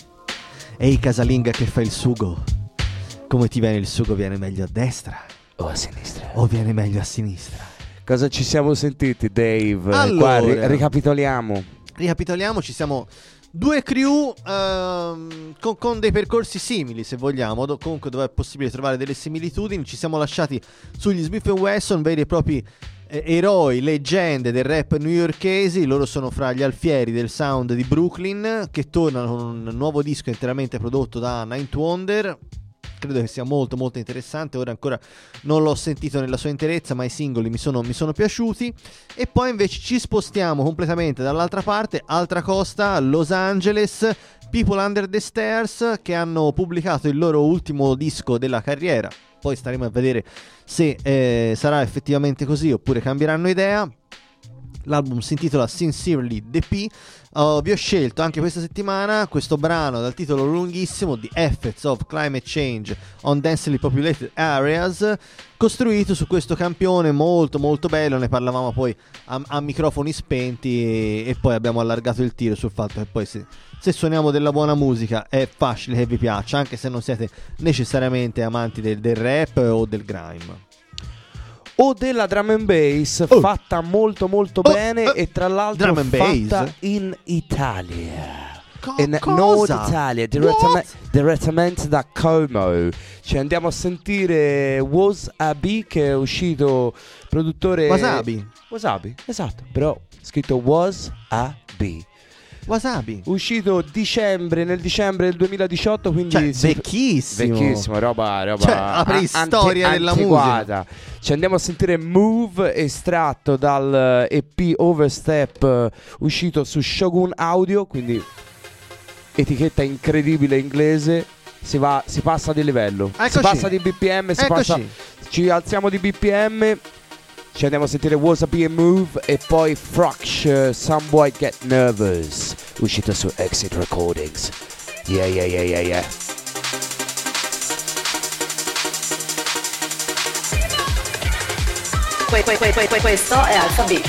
ehi casalinga che fa il sugo. Come ti viene il sugo? Viene meglio a destra o a sinistra? O viene meglio a sinistra? Cosa ci siamo sentiti, Dave? Allora. Qua ri- ricapitoliamo. Ricapitoliamo, ci siamo due crew ehm, con, con dei percorsi simili, se vogliamo, do- comunque dove è possibile trovare delle similitudini. Ci siamo lasciati sugli Smith and Wesson, veri e propri eh, eroi, leggende del rap newyorkesi. Loro sono fra gli alfieri del sound di Brooklyn, che tornano con un nuovo disco interamente prodotto da Ninth Wonder. Credo che sia molto molto interessante. Ora ancora non l'ho sentito nella sua interezza, ma i singoli mi sono, mi sono piaciuti. E poi invece ci spostiamo completamente dall'altra parte, altra costa, Los Angeles, People Under the Stairs, che hanno pubblicato il loro ultimo disco della carriera. Poi staremo a vedere se eh, sarà effettivamente così oppure cambieranno idea. L'album si intitola Sincerely The P. Uh, vi ho scelto anche questa settimana questo brano dal titolo lunghissimo, The Effects of Climate Change on Densely Populated Areas, costruito su questo campione molto molto bello. Ne parlavamo poi a, a microfoni spenti e, e poi abbiamo allargato il tiro sul fatto che poi se, se suoniamo della buona musica è facile che vi piaccia, anche se non siete necessariamente amanti del, del rap o del grime. O della drum and bass Oh. fatta molto molto Oh, bene eh, e tra l'altro drum and fatta bass? in Italia. Co- in cosa? Nord Italia, direttame- What? direttamente da Como. Ci andiamo a sentire Wasabi, che è uscito produttore Wasabi? Wasabi, esatto, però scritto Wasabi. Wasabi. Uscito dicembre, nel dicembre del duemiladiciotto, quindi Cioè, si- vecchissimo. vecchissimo, roba, roba Cioè, la preistoria ante- della antiquata. Ci andiamo a sentire Move, estratto dal E P Overstep, eh, uscito su Shogun Audio, quindi etichetta incredibile inglese. Si va, si passa di livello, si Eccoci. passa di B P M, si Eccoci. passa, ci alziamo di B P M. Ci andiamo a sentire Wasabi e Move e poi Fracsh, uh, Some Boy Get Nervous, uscito su Exit Recordings. Yeah, yeah, yeah, yeah, yeah. Que- que- que- que- Questo è Alpha Beat.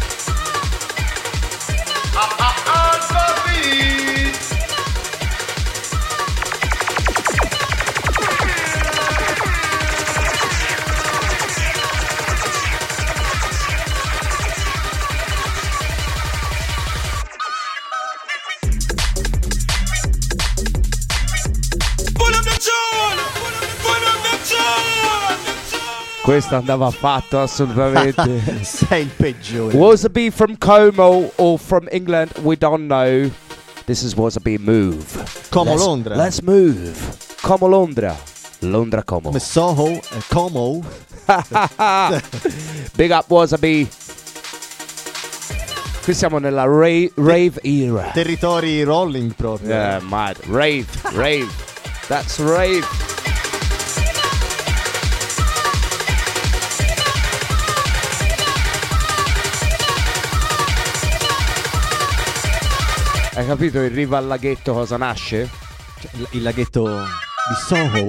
Questo andava fatto assolutamente. Sei il peggiore. Wasabi from Como or from England, we don't know. This is Wasabi Move. Como Let's- Londra. Let's move. Como Londra. Londra Como. Come Soho e Como. Big up Wasabi. Qui siamo nella rave, rave era. Territori rolling proprio. Yeah, mad. Rave, rave. That's rave. Hai capito in riva al laghetto cosa nasce? Cioè, il, il laghetto di Soho.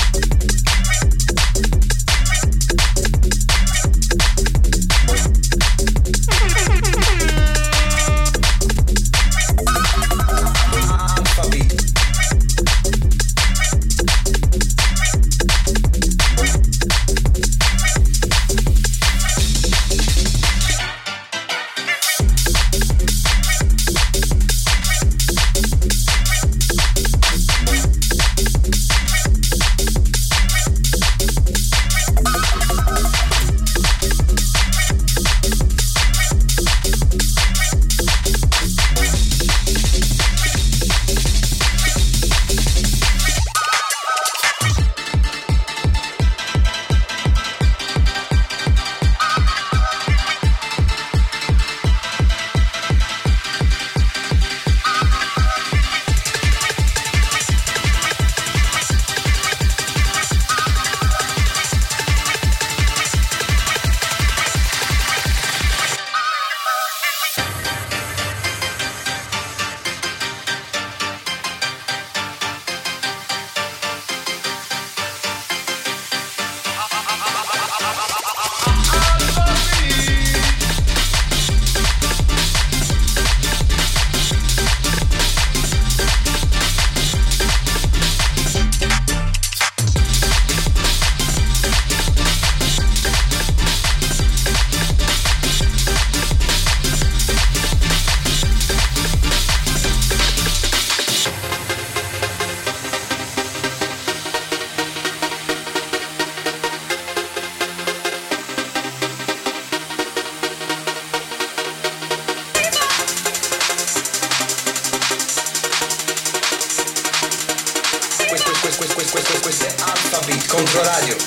Questo è Alphabet Controradio.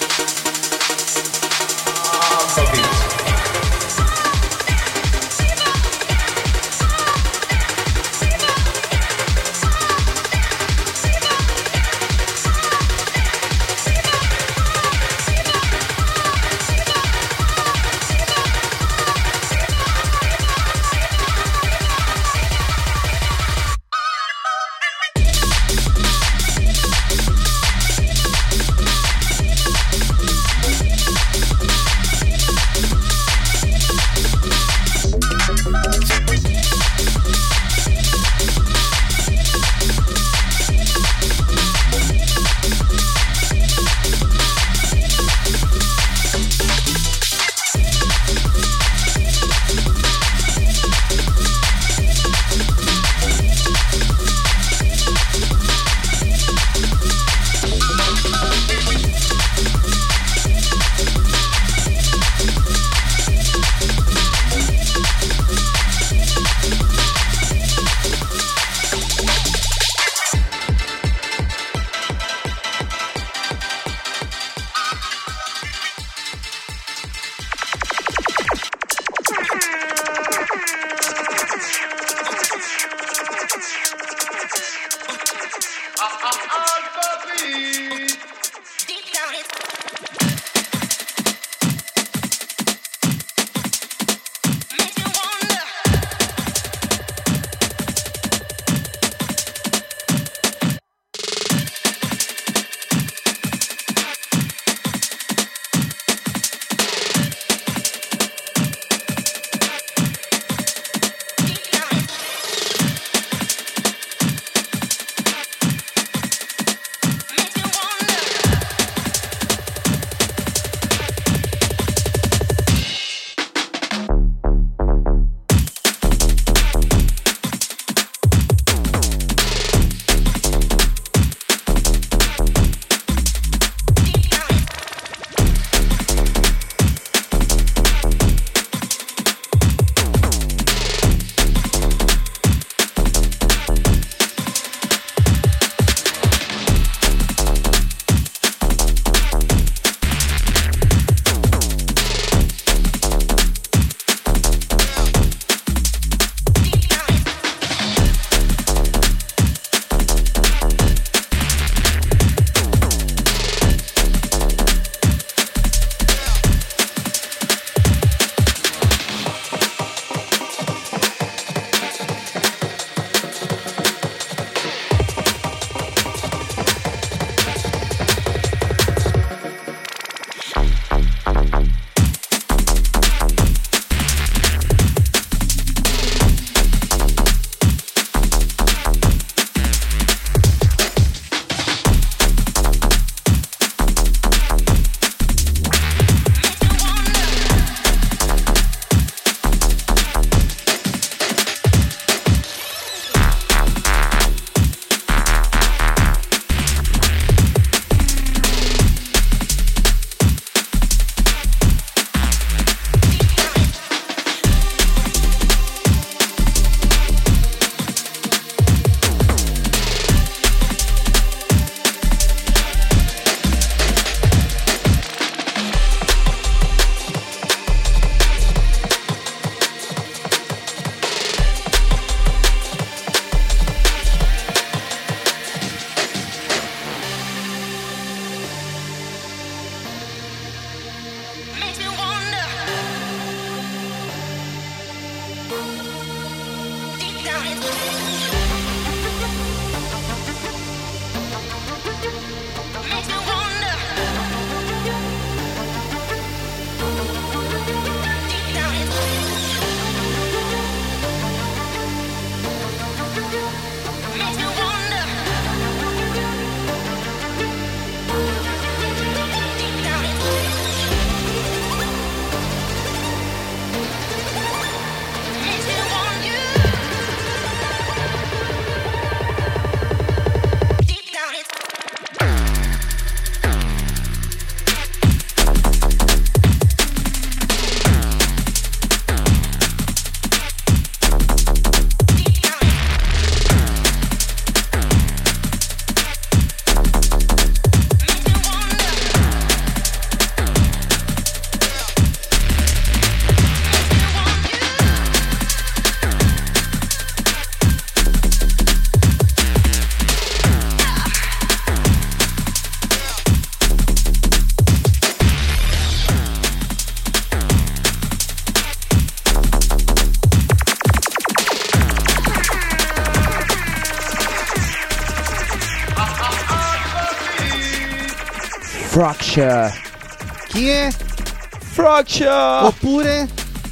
Alphabet. Fracture. Chi è? Fracture. Oppure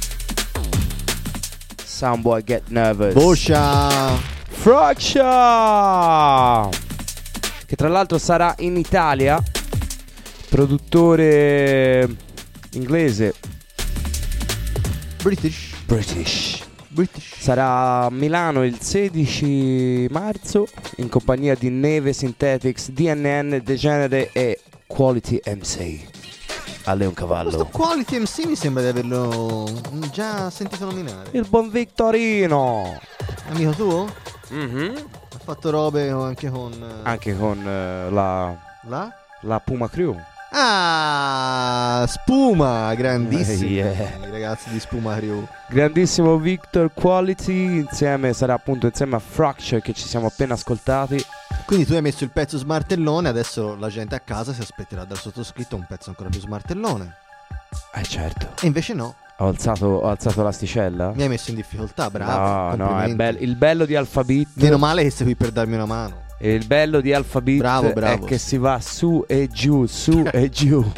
Soundboy Get Nervous. Boscia. Fracture, che tra l'altro sarà in Italia, produttore inglese. British. British. British. Sarà a Milano il sedici marzo in compagnia di Neve Synthetics, D N N, Degenere e Quality M C. A Leon Cavallo. Questo Quality M C mi sembra di averlo già sentito nominare. Il buon Victorino. Amico tuo? Mm-hmm. Ha fatto robe anche con Anche con uh, la La? La Puma Crew. Ah, Spuma, grandissimi Yeah. i ragazzi di Spuma Crew. Grandissimo Victor Quality. Insieme sarà appunto insieme a Fracture, che ci siamo appena ascoltati. Quindi tu hai messo il pezzo smartellone, adesso la gente a casa si aspetterà dal sottoscritto un pezzo ancora più smartellone. Eh certo. E invece no. Ho alzato, ho alzato l'asticella? Mi hai messo in difficoltà, bravo. No, no, è bello. Il bello di Alphabet. Meno male che sei qui per darmi una mano. E il bello di Alphabet bravo, bravo, è che sì. si va su e giù, su e giù.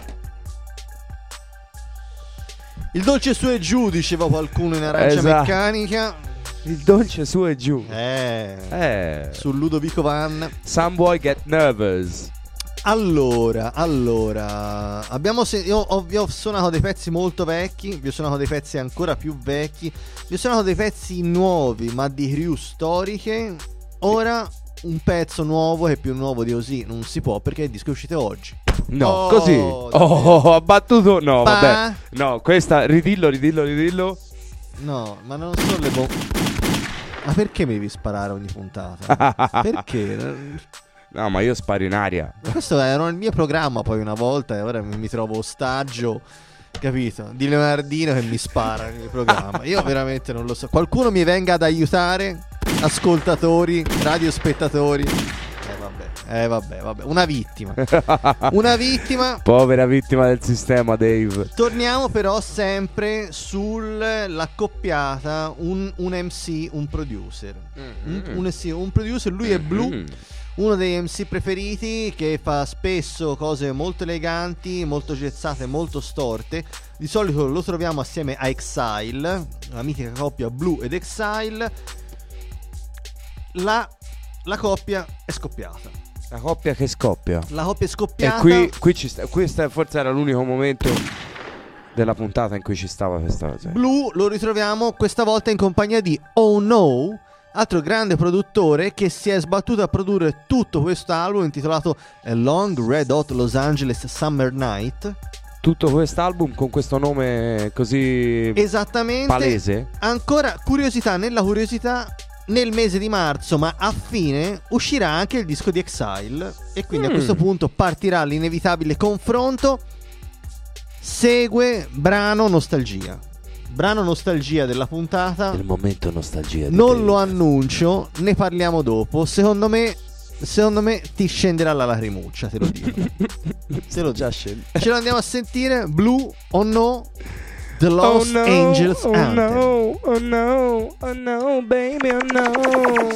Il dolce su e giù, diceva qualcuno in arancia Esatto. meccanica. Il dolce su e giù. Eh. Eh. Su Ludovico Van. Soundboy Get Nervous. Allora, allora abbiamo se- io ho, vi ho suonato dei pezzi molto vecchi, vi ho suonato dei pezzi ancora più vecchi, vi ho suonato dei pezzi nuovi ma di crew storiche. Ora un pezzo nuovo che più nuovo di così non si può, perché il disco è uscito oggi. No, Oh, così. Oh, ha battuto. No, Pa- vabbè. No, questa ridillo, ridillo, ridillo. No, ma non sono le bombe. Ma perché mi devi sparare ogni puntata? Perché? No, ma io sparo in aria. Questo era il mio programma poi una volta e ora mi, mi trovo ostaggio, capito? Di Leonardino che mi spara nel mio programma. Io veramente non lo so. Qualcuno mi venga ad aiutare? Ascoltatori, radiospettatori. Eh vabbè, eh vabbè, vabbè. Una vittima. Una vittima. Povera vittima del sistema, Dave. Torniamo però sempre sull'accoppiata un, un M C, un producer. Mm-hmm. Un, un, M C, un producer, lui è Blue. Uno dei M C preferiti, che fa spesso cose molto eleganti, molto gezzate, molto storte. Di solito lo troviamo assieme a Exile, la mitica coppia Blue ed Exile. La, la coppia è scoppiata. La coppia che scoppia. La coppia è scoppiata. E qui, qui ci sta, questo forse era l'unico momento della puntata in cui ci stava questa cosa. Blue lo ritroviamo questa volta in compagnia di Oh No, altro grande produttore che si è sbattuto a produrre tutto questo album intitolato A Long Red Hot Los Angeles Summer Night. Tutto quest'album con questo nome così esattamente palese. Ancora curiosità nella curiosità, nel mese di marzo, ma a fine, uscirà anche il disco di Exile. E quindi Mm. a questo punto partirà l'inevitabile confronto. Segue brano nostalgia. Brano nostalgia della puntata. Il momento nostalgia di Non Dave. lo annuncio, ne parliamo dopo. Secondo me, secondo me ti scenderà la lacrimuccia, te lo dico. Te lo già dico. scende. Ce lo andiamo a sentire. Blue o No, The Oh Lost no, Angels oh Anthem. no, oh no, oh no, baby, oh no.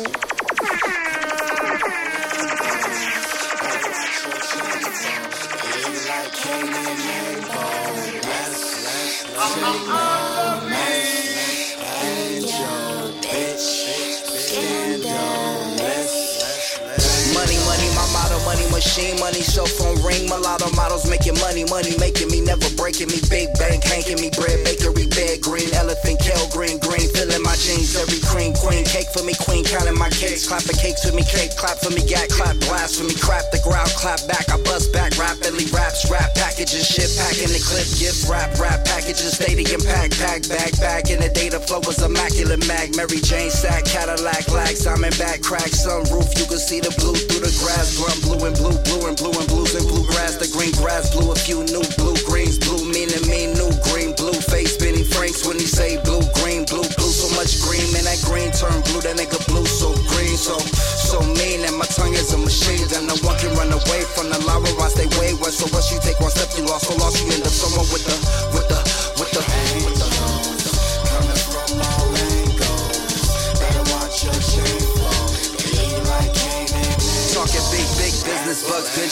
Money, money, my motto, money machine, money, cell phone ring, mulatto models making money, money making me, never breaking me, big bank hanking me, bread bakery, bed green, elephant, kale green, green, filling my jeans, every cream, queen, cake for me, queen, counting my cakes, clapping cakes with me, cake, clap for me, gat, clap, blast for me, crap the ground, clap back, I bust back, rapidly, raps, rap packages, shit, packing the clip, gift, rap, rap packages, stadium pack, pack, bag, back, in the data flow was immaculate mag, Mary Jane sack, Cadillac, lag, Simon back, crack, sunroof, you can see the blue through the grass, glum, blue and blue, blue and blue and blues and bluegrass, the green grass, blue, a few new blue greens, blue meaning me, new green, blue face, Benny Franks when he say blue, green, blue, blue, so much green, man, that green turn blue, that nigga blue, so green, so, so mean, and my tongue is a machine, and no one can run away from the lava, I stay way west, so once you take one step, you lost, so lost, you end up somewhere with the, with the, with the, with the, coming from all angles, better watch your chain flow, like talking big, big business, bugs, binge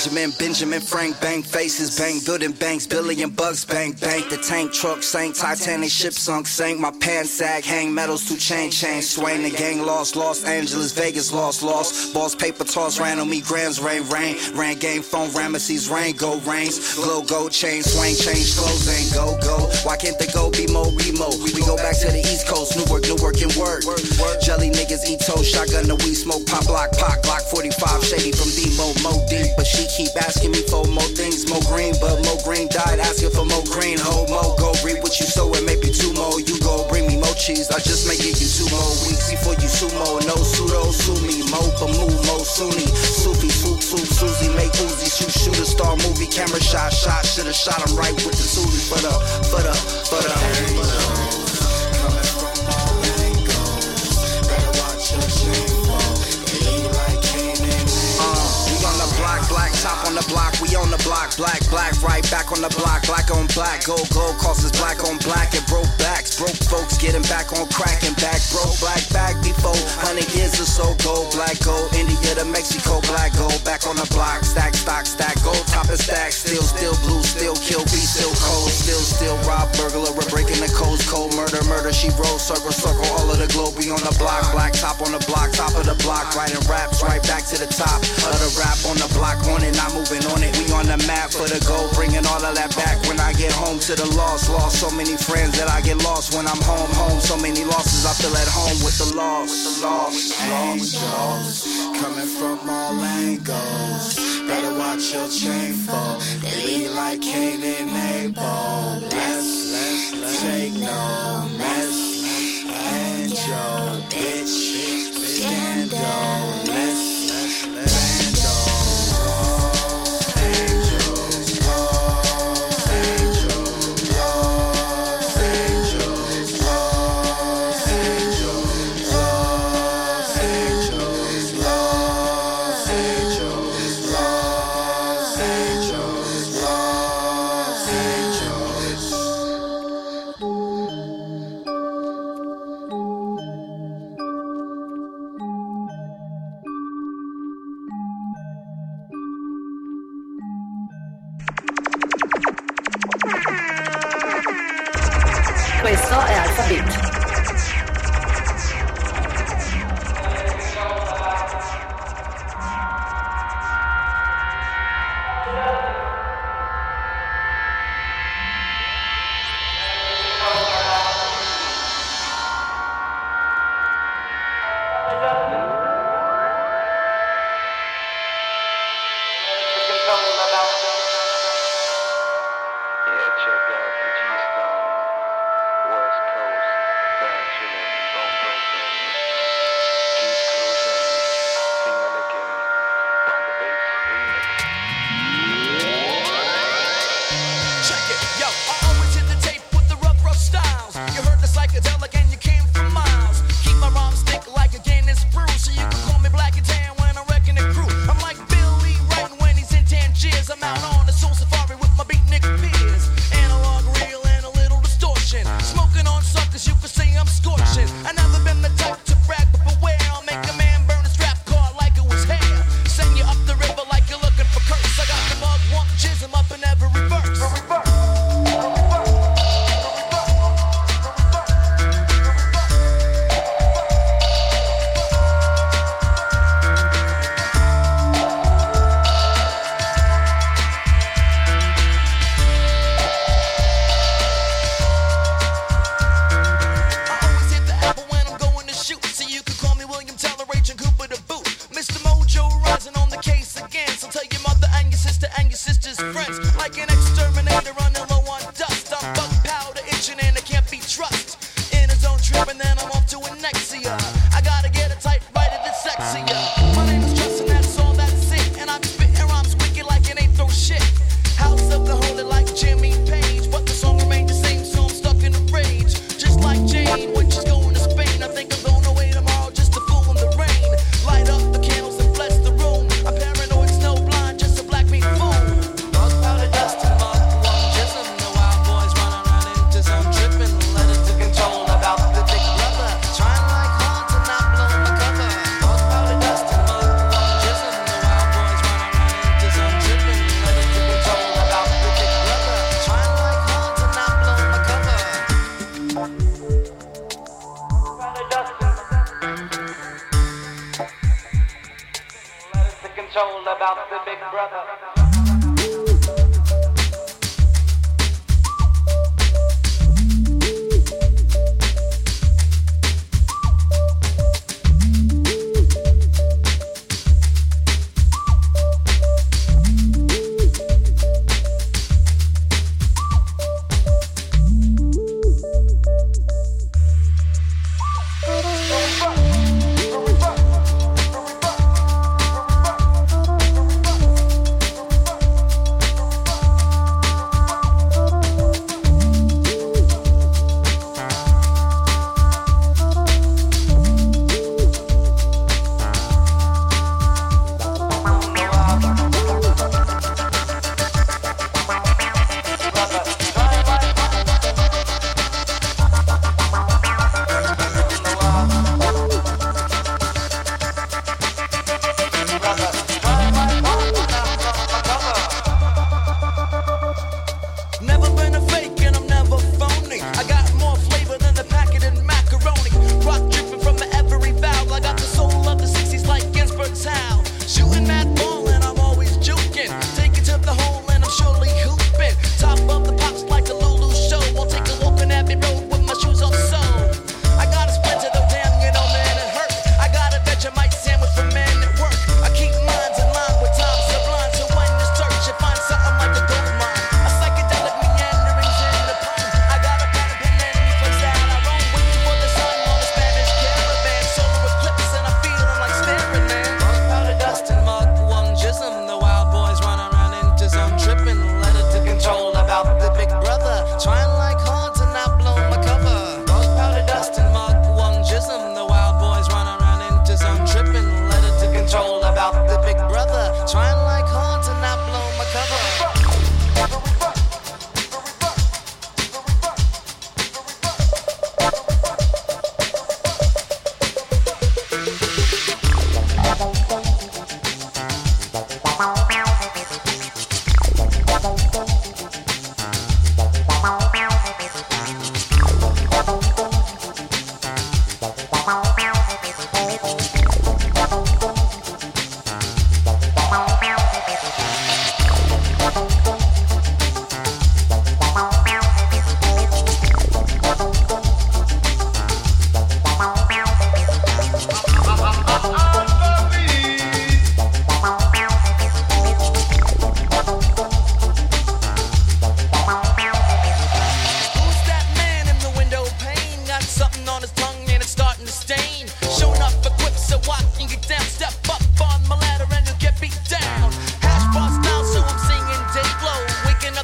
Benjamin, Benjamin Frank, bang faces, bang building banks, billion bucks, bang bank. The tank truck sank, Titanic ship sunk, sank. My pants sag, hang metals to chain, chain, swing. The gang lost, Los Angeles, Vegas lost, lost. Boss paper toss, ran on me, grams, rain, rain. Ran game phone, Ramesses, rain, go, rains. Glow, go, chain, swing, change, clothes, ain't go, go. Why can't they go be more remote? We go back to the East Coast, Newark, Newark and work. Jelly niggas eat toast, shotgun the weed smoke, pop block, pop block, forty-five, shady from D-Mo, Mo deep. But she keep asking me for more things, Mo green, but Mo green died asking for more green. Ho, Mo, go read what you sow and maybe two more. You go bring me more cheese, I just may give you two more weeks before you sumo. No pseudo, sue me, Mo, Bamu, Mo, Sunni, Sufi, swoop, swoop, Susie, make Uzi, shoot, shoot a star movie, camera shot, shot, should've shot him right with the Susie, for the, for the, for the, for the. Black top on the block, we on the block. Black, black, right back on the block. Black on black, gold, gold crosses black on black. And broke backs, broke folks getting back on crack and back. Broke black back before, hundred years or so. Gold, black, gold, India to Mexico. Black, gold, back on the block. Stack, stock, stack, gold, top and stack. Still, still blue, still kill, be still cold. Still, still rob, burglar, we're breaking the codes. Cold murder, murder, she rolls. Circle, circle, all of the globe, we on the block. Black top on the block, top of the block. Writing raps right back to the top of the rap on the block. On it, not moving on it. We on the map for the goal, bringing all of that back. When I get home to the loss, lost so many friends that I get lost. When I'm home, home, so many losses. I feel at home with the loss, with the loss. Angels coming from all angles. Better watch your chain fall. They be like Cain and Abel. Let's, let's, let's take no mess. Angel, bitch, scandal. Let's, let's, let's. Questo è Alpha Beat.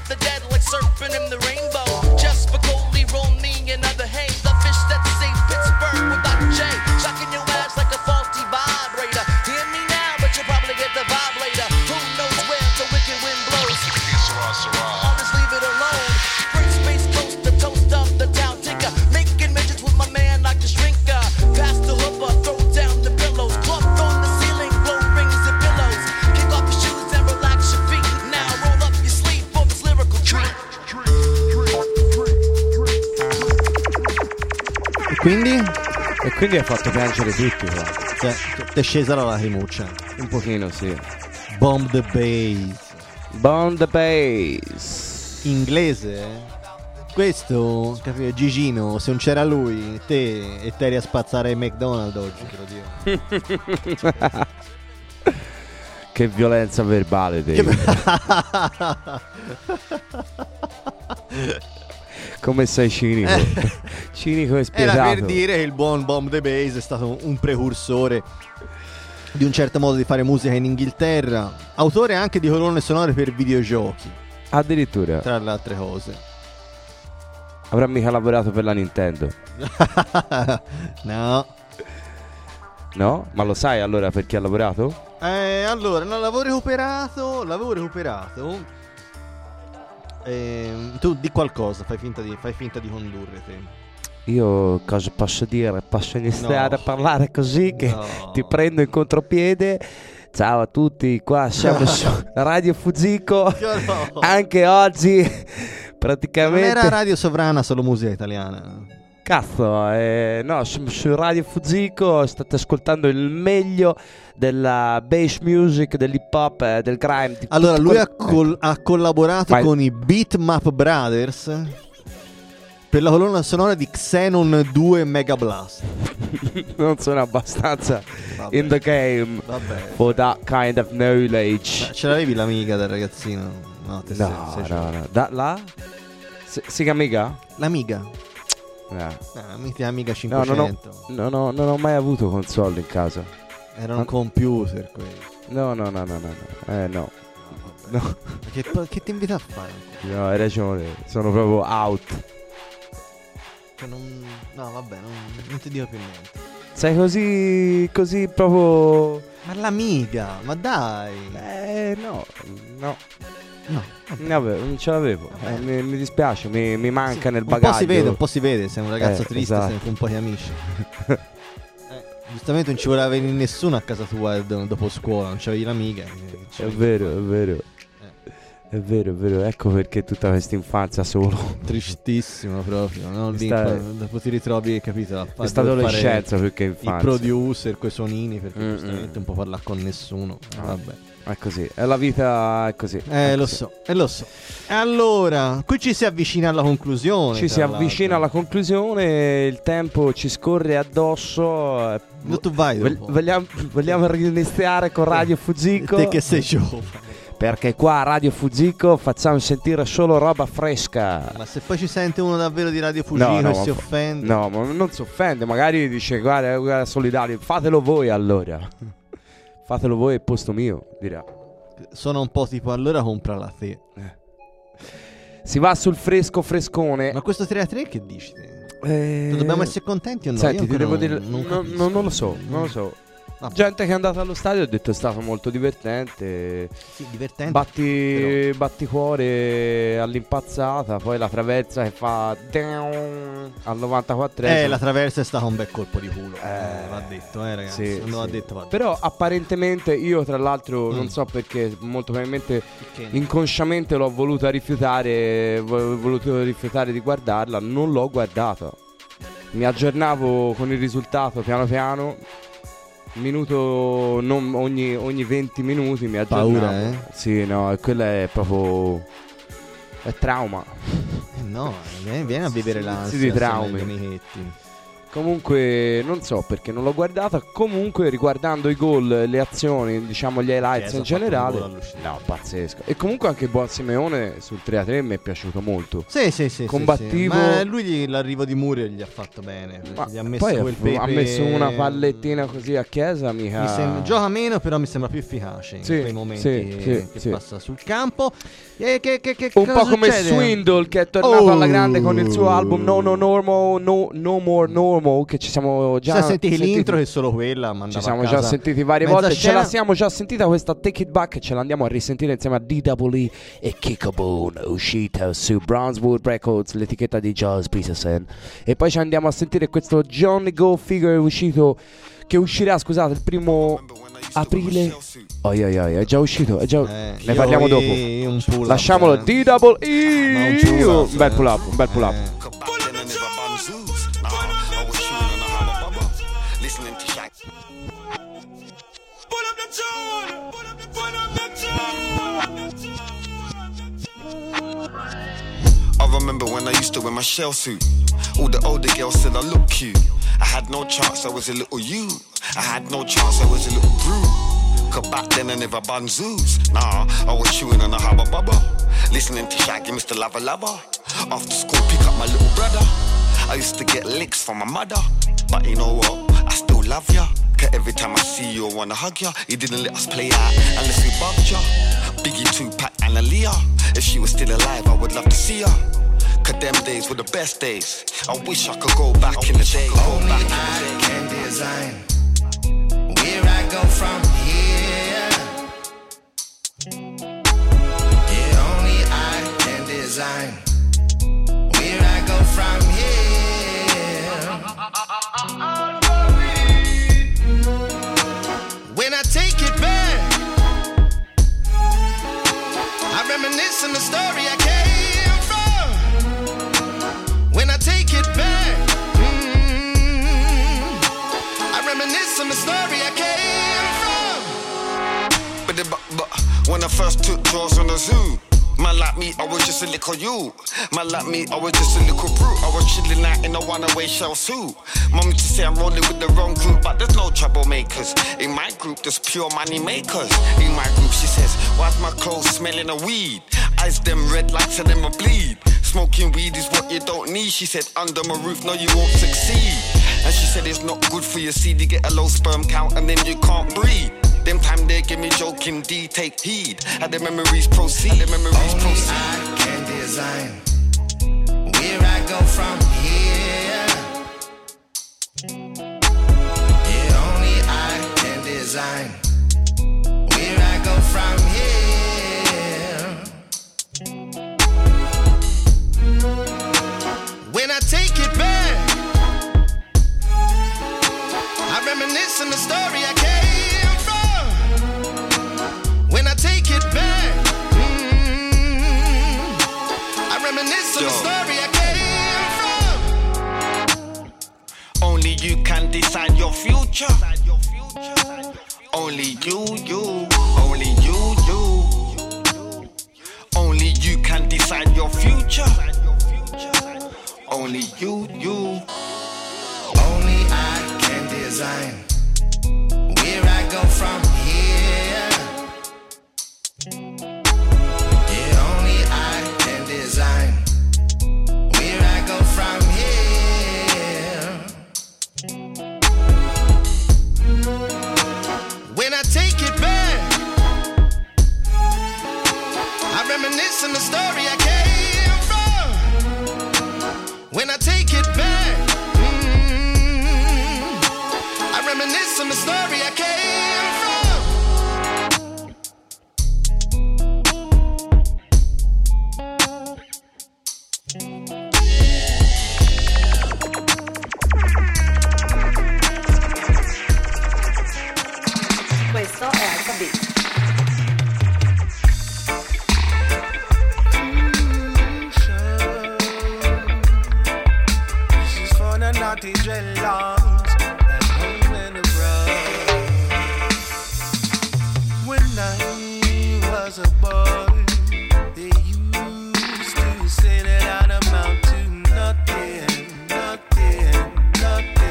the dead like surfing in the rainbow. Just for Coley, Romney, and other hay. The fish that say Pittsburgh without a J. Shocking your ass like a faulty vibrator. Hear me now, but you'll probably get the vibe later. Who knows where the wicked wind blows? I'll just leave it alone. Great space coast, the toast of the town tinker. Making midgets with my man like the shrinker. Pass the hooper, throw down the pillows. Cloth on the ceiling, blow rings and pillows. Kick off your shoes and relax your feet. Now roll up your sleeve for this lyrical treat. E quindi? E quindi hai fatto piangere tutti qua. Cioè, ti è scesa la lacrimuccia. Un pochino, sì. Bomb the bass. Bomb the bass. Inglese, eh? Questo, capito, Gigino, se non c'era lui, te e te eri a spazzare il McDonald's oggi, te lo dico. Che violenza verbale, te. Come sei cinico. Eh. Cinico e spietato. Era per dire che il buon Bomb the Bass è stato un precursore di un certo modo di fare musica in Inghilterra. Autore anche di colonne sonore per videogiochi. Addirittura. Tra le altre cose. Avrà mica lavorato per la Nintendo? No. No? Ma lo sai allora per chi ha lavorato? Eh, allora, no, l'avevo recuperato. L'avevo recuperato. Eh, tu di qualcosa, fai finta di, fai finta di condurre te. Io cosa posso dire? Posso iniziare No. a parlare così che No. ti prendo in contropiede? Ciao a tutti, qua siamo su Radio Fuziko. No. Anche oggi Non praticamente... era Radio Sovrana, solo musica italiana. Cazzo, eh, no, su, su Radio Fuziko state ascoltando il meglio della bass music, dell'hip hop, eh, del grime. Di Allora, tutto lui quel- ha, col- ha collaborato Vai. con i Beatmap Brothers per la colonna sonora di Xenon due Mega Blast. Non sono abbastanza Vabbè. in the game Vabbè. for that kind of knowledge. Ma ce l'avevi l'amiga del ragazzino? No, te sei- No, sei no, giovane. no. Da, la? Si, si chiama amica? L'amiga? Eh. Ah, mitica amiga No, non ho, cinquecento. no, no, non ho mai avuto console in casa. Era un Ma- computer quello. No, no, no, no, no, no. Eh, no. No. Ma Che, che ti invita a fare? No, hai ragione. Sono proprio out. Cioè, non, no, vabbè, non, non ti dico più niente. Sei così, così proprio... Ma l'amiga, ma dai. Eh, no, no. No, Vabbè, non ce l'avevo. Eh, mi, mi dispiace, mi, mi manca nel un bagaglio. po' si vede, un po' si vede, sei un ragazzo Eh, triste, esatto. sei con pochi amici. eh, giustamente non ci voleva venire nessuno a casa tua do- dopo scuola, non c'avevi l'amica. eh, È c'avevi- vero, è vero. È vero, è vero. Ecco perché tutta questa infanzia solo. Tristissimo proprio, no? Lì Questa poi è- dopo ti ritrovi, capito? A fa- Questa dover adolescenza fare più che infanzia. I producer, quei suonini, perché Mm, giustamente mm. non può parlare con nessuno. Eh, Ah. vabbè. È così, è la vita, è così. Eh, È lo così. so, eh, lo so. E allora, qui ci si avvicina alla conclusione. Ci si tra avvicina alla l'altro. conclusione, il tempo ci scorre addosso. eh, Dove tu vai vog- dopo? Vogliamo, vogliamo riniziare con Radio Fuziko? Te che sei giovane. Perché qua a Radio Fuziko facciamo sentire solo roba fresca. Ma se poi ci sente uno davvero di Radio Fugino No, no, e si ma- offende. No, ma non si offende, magari dice guarda, guarda solidario, fatelo voi allora. Fatelo voi al posto mio, dirà. Sono un po' tipo allora comprala te. Si va sul fresco frescone. Ma questo tre a tre che dici te? Eh, Dobbiamo essere contenti o no? Senti, Io ti devo ancora dire, non- non no- capisco. no- non lo so, non lo so. Vabbè. Gente che è andata allo stadio ha detto è stato molto divertente. Sì, divertente. Batti, batticuore all'impazzata, poi la traversa che fa down al novantaquattresimo. Eh, la traversa è stato un bel colpo di culo. Eh, va detto, eh, ragazzi. Sì, non va sì. detto, va detto. Però apparentemente io tra l'altro Mm. non so perché, molto probabilmente Che- inconsciamente l'ho voluta rifiutare, ho voluto rifiutare di guardarla, non l'ho guardata. Mi aggiornavo con il risultato piano piano. Minuto non ogni, ogni venti minuti mi aggiornavo. Paura, eh? Sì, no, e quella è proprio è trauma. Eh, no, vieni, vieni a vivere l'ansia di assieme ai traumi. tuoi amichetti. Comunque non so perché non l'ho guardata. Comunque riguardando i gol, le azioni, diciamo gli highlights in generale, no, pazzesco. E comunque anche Buon Simeone sul tre a tre mi è piaciuto molto. Sì, sì, sì, combattivo. Sì, sì. Ma lui gli, l'arrivo di Muriel gli ha fatto bene. Ma gli ha messo poi quel pepe... ha messo una pallettina così a Chiesa, mica. Mi sembra, gioca meno, però mi sembra più efficace in sì, quei momenti sì, che sì, passa sul campo. E che, che, che un cosa po' come succede? Swindle, che è tornato Oh. alla grande con il suo album No No Normal, No, no More Normal, che ci siamo già Siamo sentiti sentiti. l'intro che solo quella mandava Ci siamo a casa già sentiti varie mezza volte. scena. Ce la siamo già sentita questa Take It Back. Ce l'andiamo a risentire insieme a D W E e Kickabone, uscita su Brownswood Records, l'etichetta di Charles Peterson. E poi ci andiamo a sentire questo Johnny Go Figure uscito, che uscirà, scusate, il primo aprile. Oi oi oi, è già uscito, è già... Eh, ne parliamo io- dopo. io un pull up, Lasciamolo. eh. D W E. Ma un pull up, Un bel eh. pull up, un bel pull up. I remember when I used to wear my shell suit. All the older girls said I look cute. I had no chance, I was a little you. I had no chance, I was a little brew. Cause back then I never bun zoos. Nah, I was chewing on a hubba bubba. Listening to Shaggy, Mister Lava Lava. After school, pick up my little brother. I used to get licks from my mother. But you know what? I still love ya. Cause every time I see you, I wanna hug ya. He didn't let us play out unless we bugged ya. Biggie, Tupac, and Aaliyah. If she was still alive, I would love to see her. Cause them days were the best days. I wish I could go back in the day. Only I can design where I go from here. Yeah, only I can design where I go from here. When I take it back, I reminisce on the story I came from. When I take it back, mm, I reminisce on the story I came from. But, the, but, but when I first took draws on the zoo, man like me, I was just a little you. Man like me, I was just a little brute. I was chilling out in a one-away shell suit. Mum used to say I'm rolling with the wrong group, but there's no troublemakers. In my group, there's pure money makers. In my group, she says, why's my clothes smelling of weed? Eyes them red like to them a bleed. Smoking weed is what you don't need. She said, under my roof, no, you won't succeed. And she said, it's not good for your seed. You get a low sperm count and then you can't breed. Them time they give me joking D, take heed. How the memories proceed, the memories Only proceed. I can design where I go from here. Yeah, only I can design where I go from here. When I take it back, I reminisce on the story I came from. When I take it back, mm, I reminisce on the story I came from. Only you can decide your future. Only you, you, only you, you. Only you can decide your future. Only you, you. Only I can design where I go from here. Yeah, only I can design where I go from here. When I take it back, I reminisce on the story I came from. When I take it back, mm, I reminisce on the story I came from. Questo è Alpha Beat. This is for the naughty dreadlocks at home in the road. When I was a boy, they used to say that I'd amount to nothing, nothing, nothing.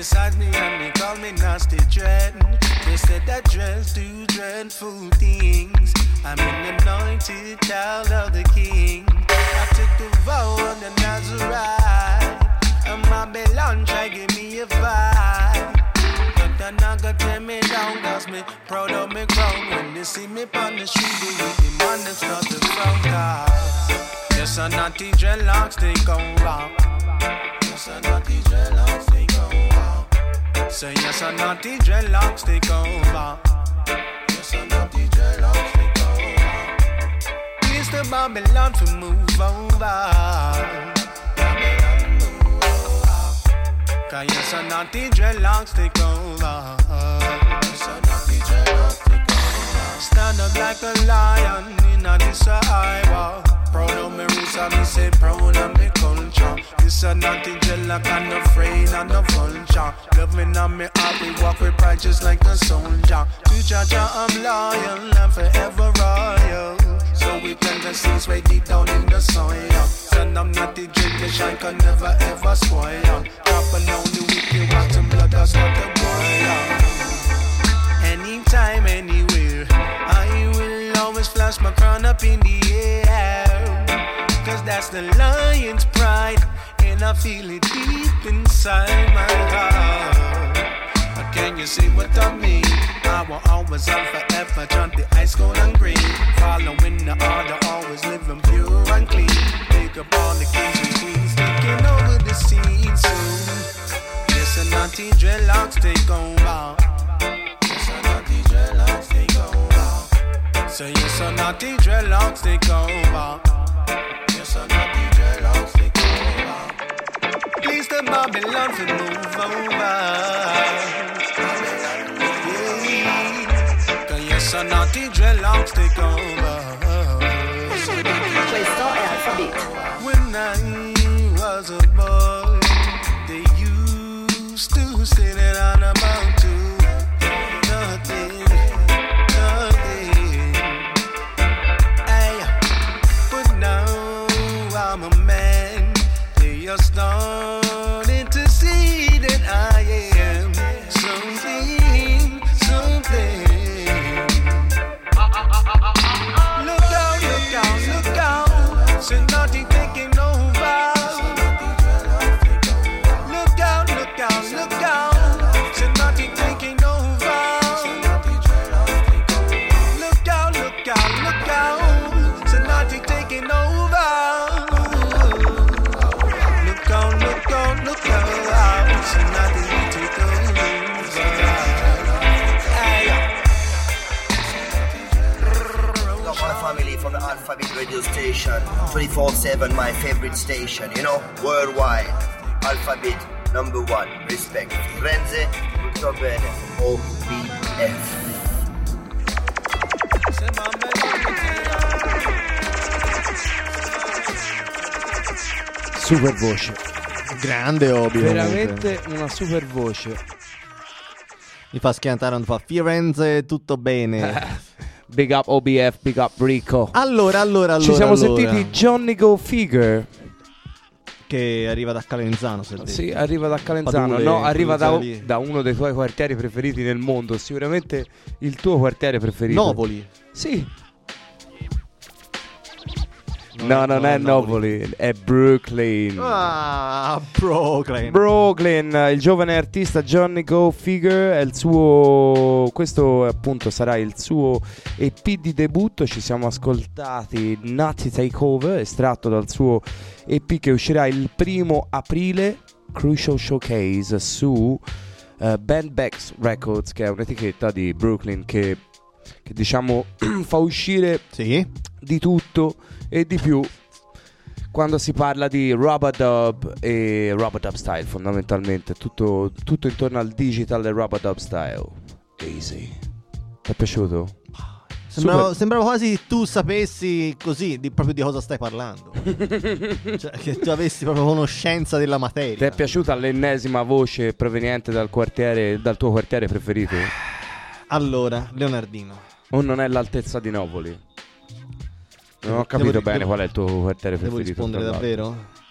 beside me and they call me nasty dread. They said that dreads do dreadful things. I'm an anointed child of the King. I took the vow of the Nazarite, and my Babylon try give me a fight. But they're not gonna tear me down, cause me proud of me crown. When they see me on the street, they with the man them start to frown. Cause yes, a naughty dreadlocks they go wrong. Yes, a naughty dreadlocks they go wrong. Say yes, a naughty dreadlocks they go wrong. Yes, a naughty dreadlocks they go wrong. Please the Babylon to move over. Cause yes, a naughty dreadlocks take over. Yes, a naughty dreadlocks take over. Stand up like a lion in a this a Iowa. Proud of me roots and me say proud of me culture. This a naughty dreadlock and no afraid and no vulture. Love me and me heart, we walk with pride just like a soldier. To Jaja I'm loyal and forever royal. So we plant the seeds way deep down in the soil. Send them naughty dread, the shine can never ever spoil. Dropping down the wicked, want some blood, that's what the boil. Anytime, anywhere, I will always flash my crown up in the air. Cause that's the lion's pride, and I feel it deep inside my heart. Can you see what I mean? I will always and forever chant the ice cold and green. Following the order, always living pure and clean. Pick up all the kings and queens, taking over the scene soon. Yes, a naughty dreadlocks take over. Yes, a naughty dreadlocks take over. So yes, a naughty dreadlocks take over. Yes, a naughty dreadlocks take over. Please the Babylon to move over. So naughty dreadlocks take over. Questo è Alphabet. When I was a boy, they used to say that I'm about to nothing, nothing. Hey, but now I'm a man. They are starting to see that I am something, something. So naughty taking over. Look out, look out, look out. So naughty taking over. Look out, look out, look out. So naughty taking over. Look out, look out, look out. So naughty take over. My family from the Alphabet radio station, twenty-four seven, my favorite station, you know, worldwide. Alphabet number one, respect. Firenze, tutto bene, O B F. Super voce. Grande Obi. Veramente una super voce. Mi fa schiantare, non fa Firenze, tutto bene. Big up O B F, big up Rico. Allora, allora, allora. Ci siamo allora. sentiti Johnny Go Figure. Che arriva da Calenzano, se Sì, arriva da Calenzano. Padule, no, arriva da, lì. da uno dei tuoi quartieri preferiti nel mondo. Sicuramente il tuo quartiere preferito. Novoli. Sì. No, non è Napoli, è Brooklyn. Ah, Brooklyn. Brooklyn, il giovane artista Johnny Go Figure è il suo. Questo appunto sarà il suo E P di debutto. Ci siamo ascoltati Naughty Takeover, estratto dal suo E P che uscirà il primo aprile, Crucial Showcase su uh, Bandbags Records, che è un'etichetta di Brooklyn che, che diciamo fa uscire sì. di tutto e di più quando si parla di Rub-a-Dub e Rub-a-Dub style, fondamentalmente tutto, tutto intorno al digital e Rub-a-Dub style. Easy. Ti è piaciuto? Sembrava, sembrava quasi tu sapessi così di, proprio di cosa stai parlando. Cioè che tu avessi proprio conoscenza della materia. Ti è piaciuta l'ennesima voce proveniente dal quartiere, dal tuo quartiere preferito? Allora, Leonardino. O non è all'altezza di Napoli? Non ho capito devo, bene devo, qual è il tuo quartiere devo preferito. Devo rispondere davvero?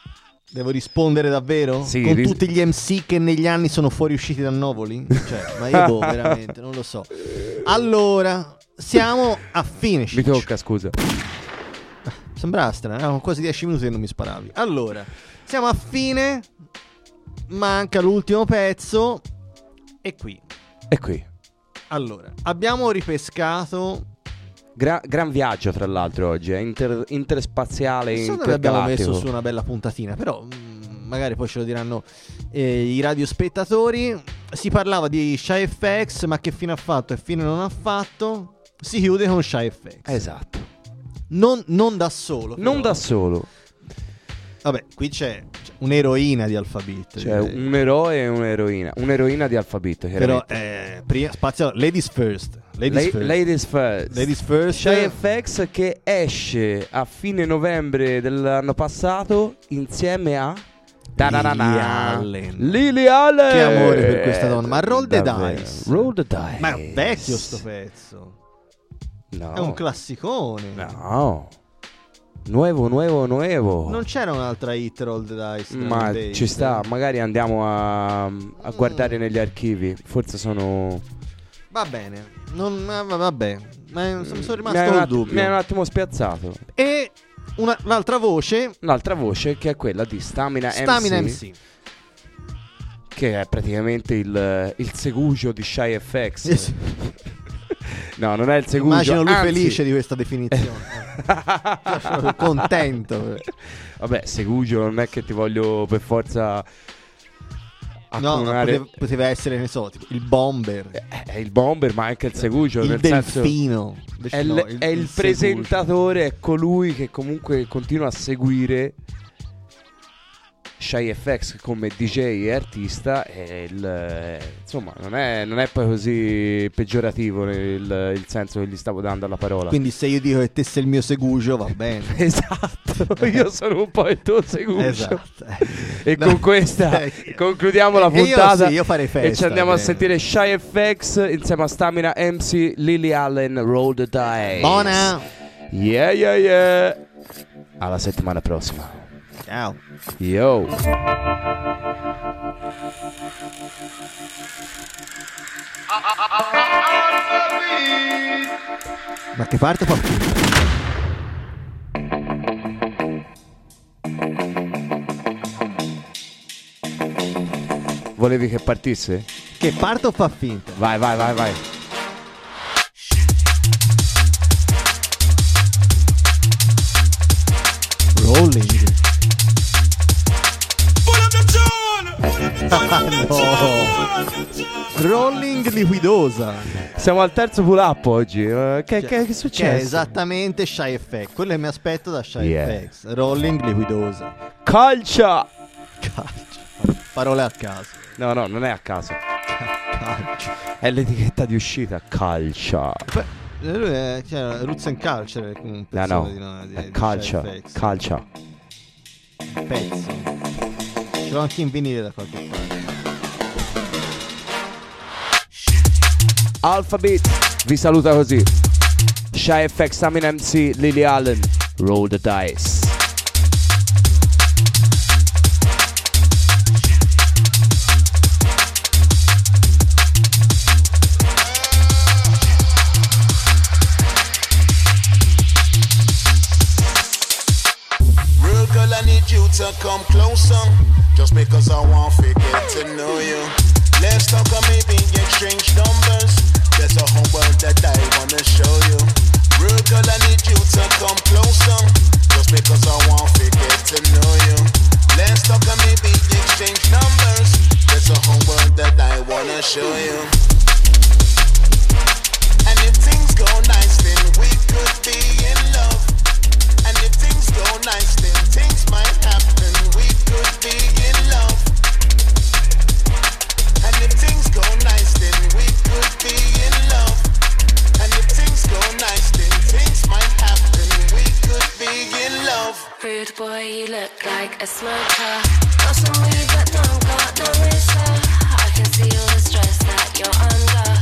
Devo rispondere davvero? Sì, Con ris- tutti gli M C che negli anni sono fuoriusciti da Novoli? Cioè, ma io boh, veramente, non lo so. Allora, siamo a fine. Mi tocca, scusa. Sembrava strano, erano quasi dieci minuti che non mi sparavi. Allora, siamo a fine. Manca l'ultimo pezzo. E qui. E qui. Allora, abbiamo ripescato... Gra- gran viaggio, tra l'altro, oggi. È inter- interspaziale, Secondo me abbiamo intergalattico. messo su una bella puntatina, però mh, magari poi ce lo diranno eh, i radiospettatori. Si parlava di Shy F X, ma che fine ha fatto e fine non ha fatto? Si chiude con Shy F X. Esatto. Non, non da solo. Non però. da solo. Vabbè, qui c'è, c'è un'eroina di Alphabet. C'è direi. un eroe e un'eroina. Un'eroina di Alphabet, Però chiaramente. eh, prima, spazio, ladies first. Ladies La- first. Ladies first. Ladies first. Shy F X che esce a fine novembre dell'anno passato insieme a Lily Allen. Lily Allen. Che amore per questa donna. Ma Roll the Davvero. Dice. Roll the Dice. Ma è vecchio sto pezzo. No. È un classicone. No. Nuovo, nuovo, nuovo. Non c'era un'altra hit Roll the Dice. drum Ma and bass? ci sta, magari andiamo a, a guardare negli archivi. Forse sono. Va bene. Non, ma- ma- vabbè. Ma mi sono rimasto mi hai un col att- dubbio. mi hai un attimo spiazzato. E una, l'altra voce. Un'altra voce che è quella di Stamina, Stamina M C, M C. che è praticamente il, il segugio di Shy F X. Eh sì. No, non è il segugio. Immagino lui anzi- felice di questa definizione. Sono contento. Vabbè, segugio non è che ti voglio per forza No, ma accomunare- poteva, poteva essere, ne so, tipo il bomber. È il bomber, ma anche il segugio. Il nel senso- delfino. Invece È, no, il, il- è il il presentatore, è colui che comunque continua a seguire Shy F X come D J e artista. E il, eh, insomma, non è, non è poi così peggiorativo il, il senso che gli stavo dando alla parola. Quindi se io dico che te sei il mio segugio, va bene. Esatto, io sono un po' il tuo segugio. Esatto. E No. con questa Eh, concludiamo la e io puntata. sì, io farei e festa, ci andiamo a bene. sentire Shy F X insieme a Stamina M C, Lily Allen, Roll the Dice. Buona. Yeah, yeah, yeah. Alla settimana prossima. Ciao. Yo. Ma che parte fa finta? Volevi che partisse? Che parte o fa finta? Vai, vai, vai, vai. Rolling. Ah, no. Rolling liquidosa. Siamo al terzo pull up oggi. Eh, che, che, che è Che è successo? esattamente Shy F X. Quello che mi aspetto da Shy Yeah. F X. Rolling liquidosa. Calcia. Calcio. Parole a caso. No, no, non è a caso. Calcio. È l'etichetta di uscita. Calcia. Beh, lui è cioè, Roots and Culture. Un No, pezzo no. di, no, di, È di calcia. Shy F X. Calcia. Un pezzo. Ce l'ho anche in vinile da qualche parte. Alphabet vi saluta così. Shy F X, Stamina M C, Lily Allen, Roll the Dice. Real girl, I need you to come closer. Just because I want to get to know you. Let's talk and maybe exchange numbers. There's a whole world that I wanna show you. Real girl, I need you to come closer. Just because I want to get to know you. Let's talk and maybe exchange numbers. There's a whole world that I wanna show you. And if things go nice, then we could be in love. And if things go nice, then things might happen. We could be in love. And if things go nice, then we could be in love. And if things go nice, then things might happen. We could be in love. Rude boy, you look like a smoker. Got some weed, but don't got no razor. I can see all the stress that you're under.